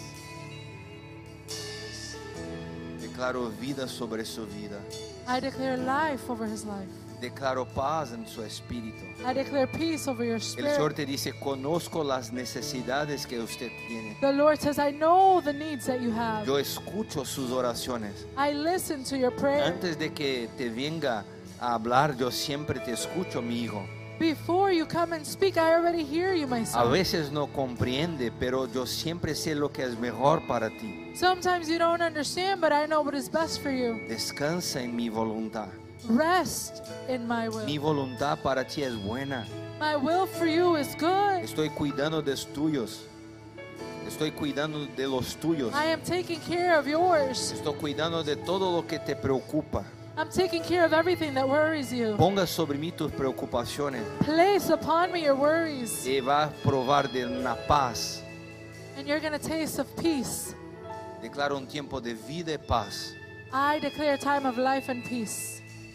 Declaro vida sobre su vida. I declare life over his life. Declaro paz en su espíritu. I declare peace over your El Señor spirit. te dice, conozco las necesidades que usted tiene. The Lord says, I know the needs that you have. Yo escucho sus oraciones. I listen to your prayer. Antes de que te venga a hablar, yo siempre te escucho, mi hijo. Before you come and speak, I already hear you, my A son. veces no comprende, pero yo siempre sé lo que es mejor para ti. Sometimes you don't understand, but I know what is best for you. Descansa en mi voluntad. Rest in my Mi will. voluntad para ti es buena. My will for you is good. Estoy cuidando de los tuyos. Estoy cuidando de los tuyos. I am taking care of yours. Estoy cuidando de todo lo que te preocupa. I'm taking care of everything that worries you. Ponga sobre mí tus preocupaciones Place upon me your worries, y va a probar de una paz. and you're going to taste of peace. Declaro un tiempo de vida y paz. I declare a time of life and peace.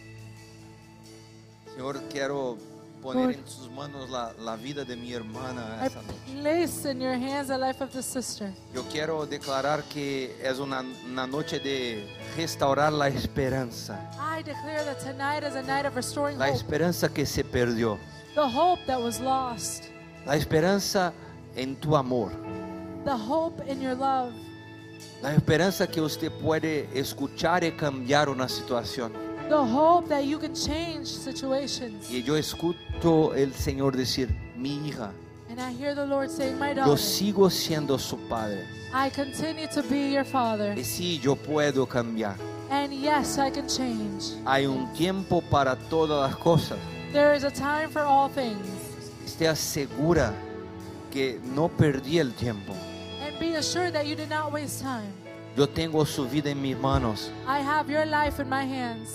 Señor, quiero poner Lord. en sus manos la, la vida de mi hermana I esta noche. place in your hands the life of the sister. Yo quiero declarar que es una, una noche de restaurar la esperanza. I declare that tonight is a night of restoring La hope. esperanza que se perdió. The hope that was lost. La esperanza en tu amor. The hope in your love. La esperanza que usted puede escuchar y cambiar una situación. The hope that you can change situations. Y yo escucho el Señor decir, mi hija, And I hear the Lord saying, my yo daughter, sigo siendo su padre. I continue to be your father. Y sí, yo puedo cambiar. And yes, I can change. Hay un tiempo para todas las cosas. There is a time for all things. Esté segura que no perdí el tiempo. And be assured that you did not waste time. Yo tengo su vida en mis manos. I have your life in my hands.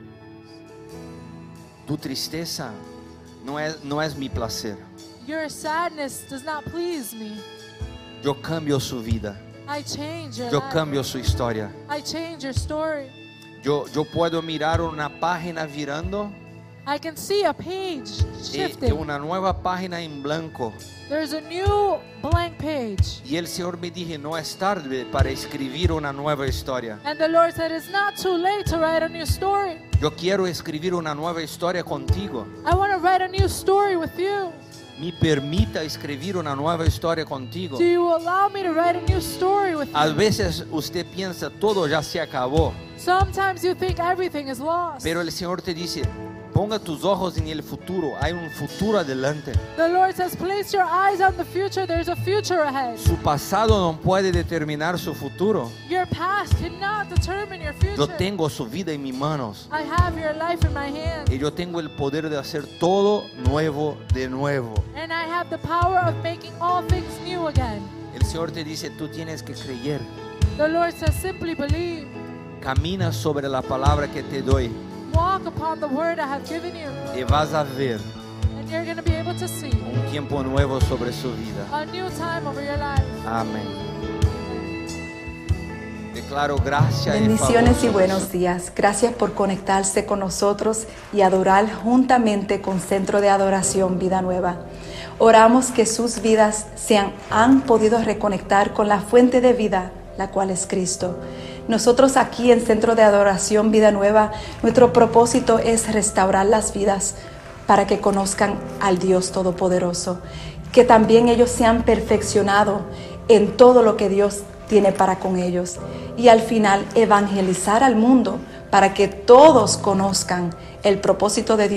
Tu tristeza no es, no es mi placer. Your sadness does not please me. Yo cambio su vida. I change your Yo life. cambio su historia. I change your story. Yo, yo puedo mirar una página virando I can see a page y, y shifting. una nueva página en blanco. There's a new blank page. Y el Señor me dijo, no es tarde para escribir una nueva historia. And the Lord said, it's not too late to write a new story. Yo quiero escribir una nueva historia contigo. I want to write a new story with you. Me permita escribir una nueva historia contigo. Do you allow me to write a new story with A you? veces usted piensa, todo ya se acabó. Sometimes you think everything is lost. Pero el Señor te dice, ponga tus ojos en el futuro. Hay un futuro adelante. The Lord says, place your eyes on the future. There's a future ahead. Su pasado no puede determinar su futuro. Your past cannot determine your Yo future. tengo su vida en mis manos. I have your life in my hands. Y yo tengo el poder de hacer todo nuevo de nuevo. And I have the power of making all things new again. El Señor te dice, tú tienes que creer. The Lord says, simply believe. Camina sobre la palabra que te doy Walk upon the word I have given you. y vas a ver And you're going to be able to see un tiempo nuevo sobre su vida. a new time over your life. Amén. Declaro gracia y Bendiciones favor y buenos sobre su- días. Gracias por conectarse con nosotros y adorar juntamente con Centro de Adoración Vida Nueva. Oramos que sus vidas se han, han podido reconectar con la fuente de vida, la cual es Cristo. Nosotros aquí en Centro de Adoración Vida Nueva, nuestro propósito es restaurar las vidas para que conozcan al Dios Todopoderoso, que también ellos se han perfeccionado en todo lo que Dios tiene para con ellos, y al final evangelizar al mundo para que todos conozcan el propósito de Dios.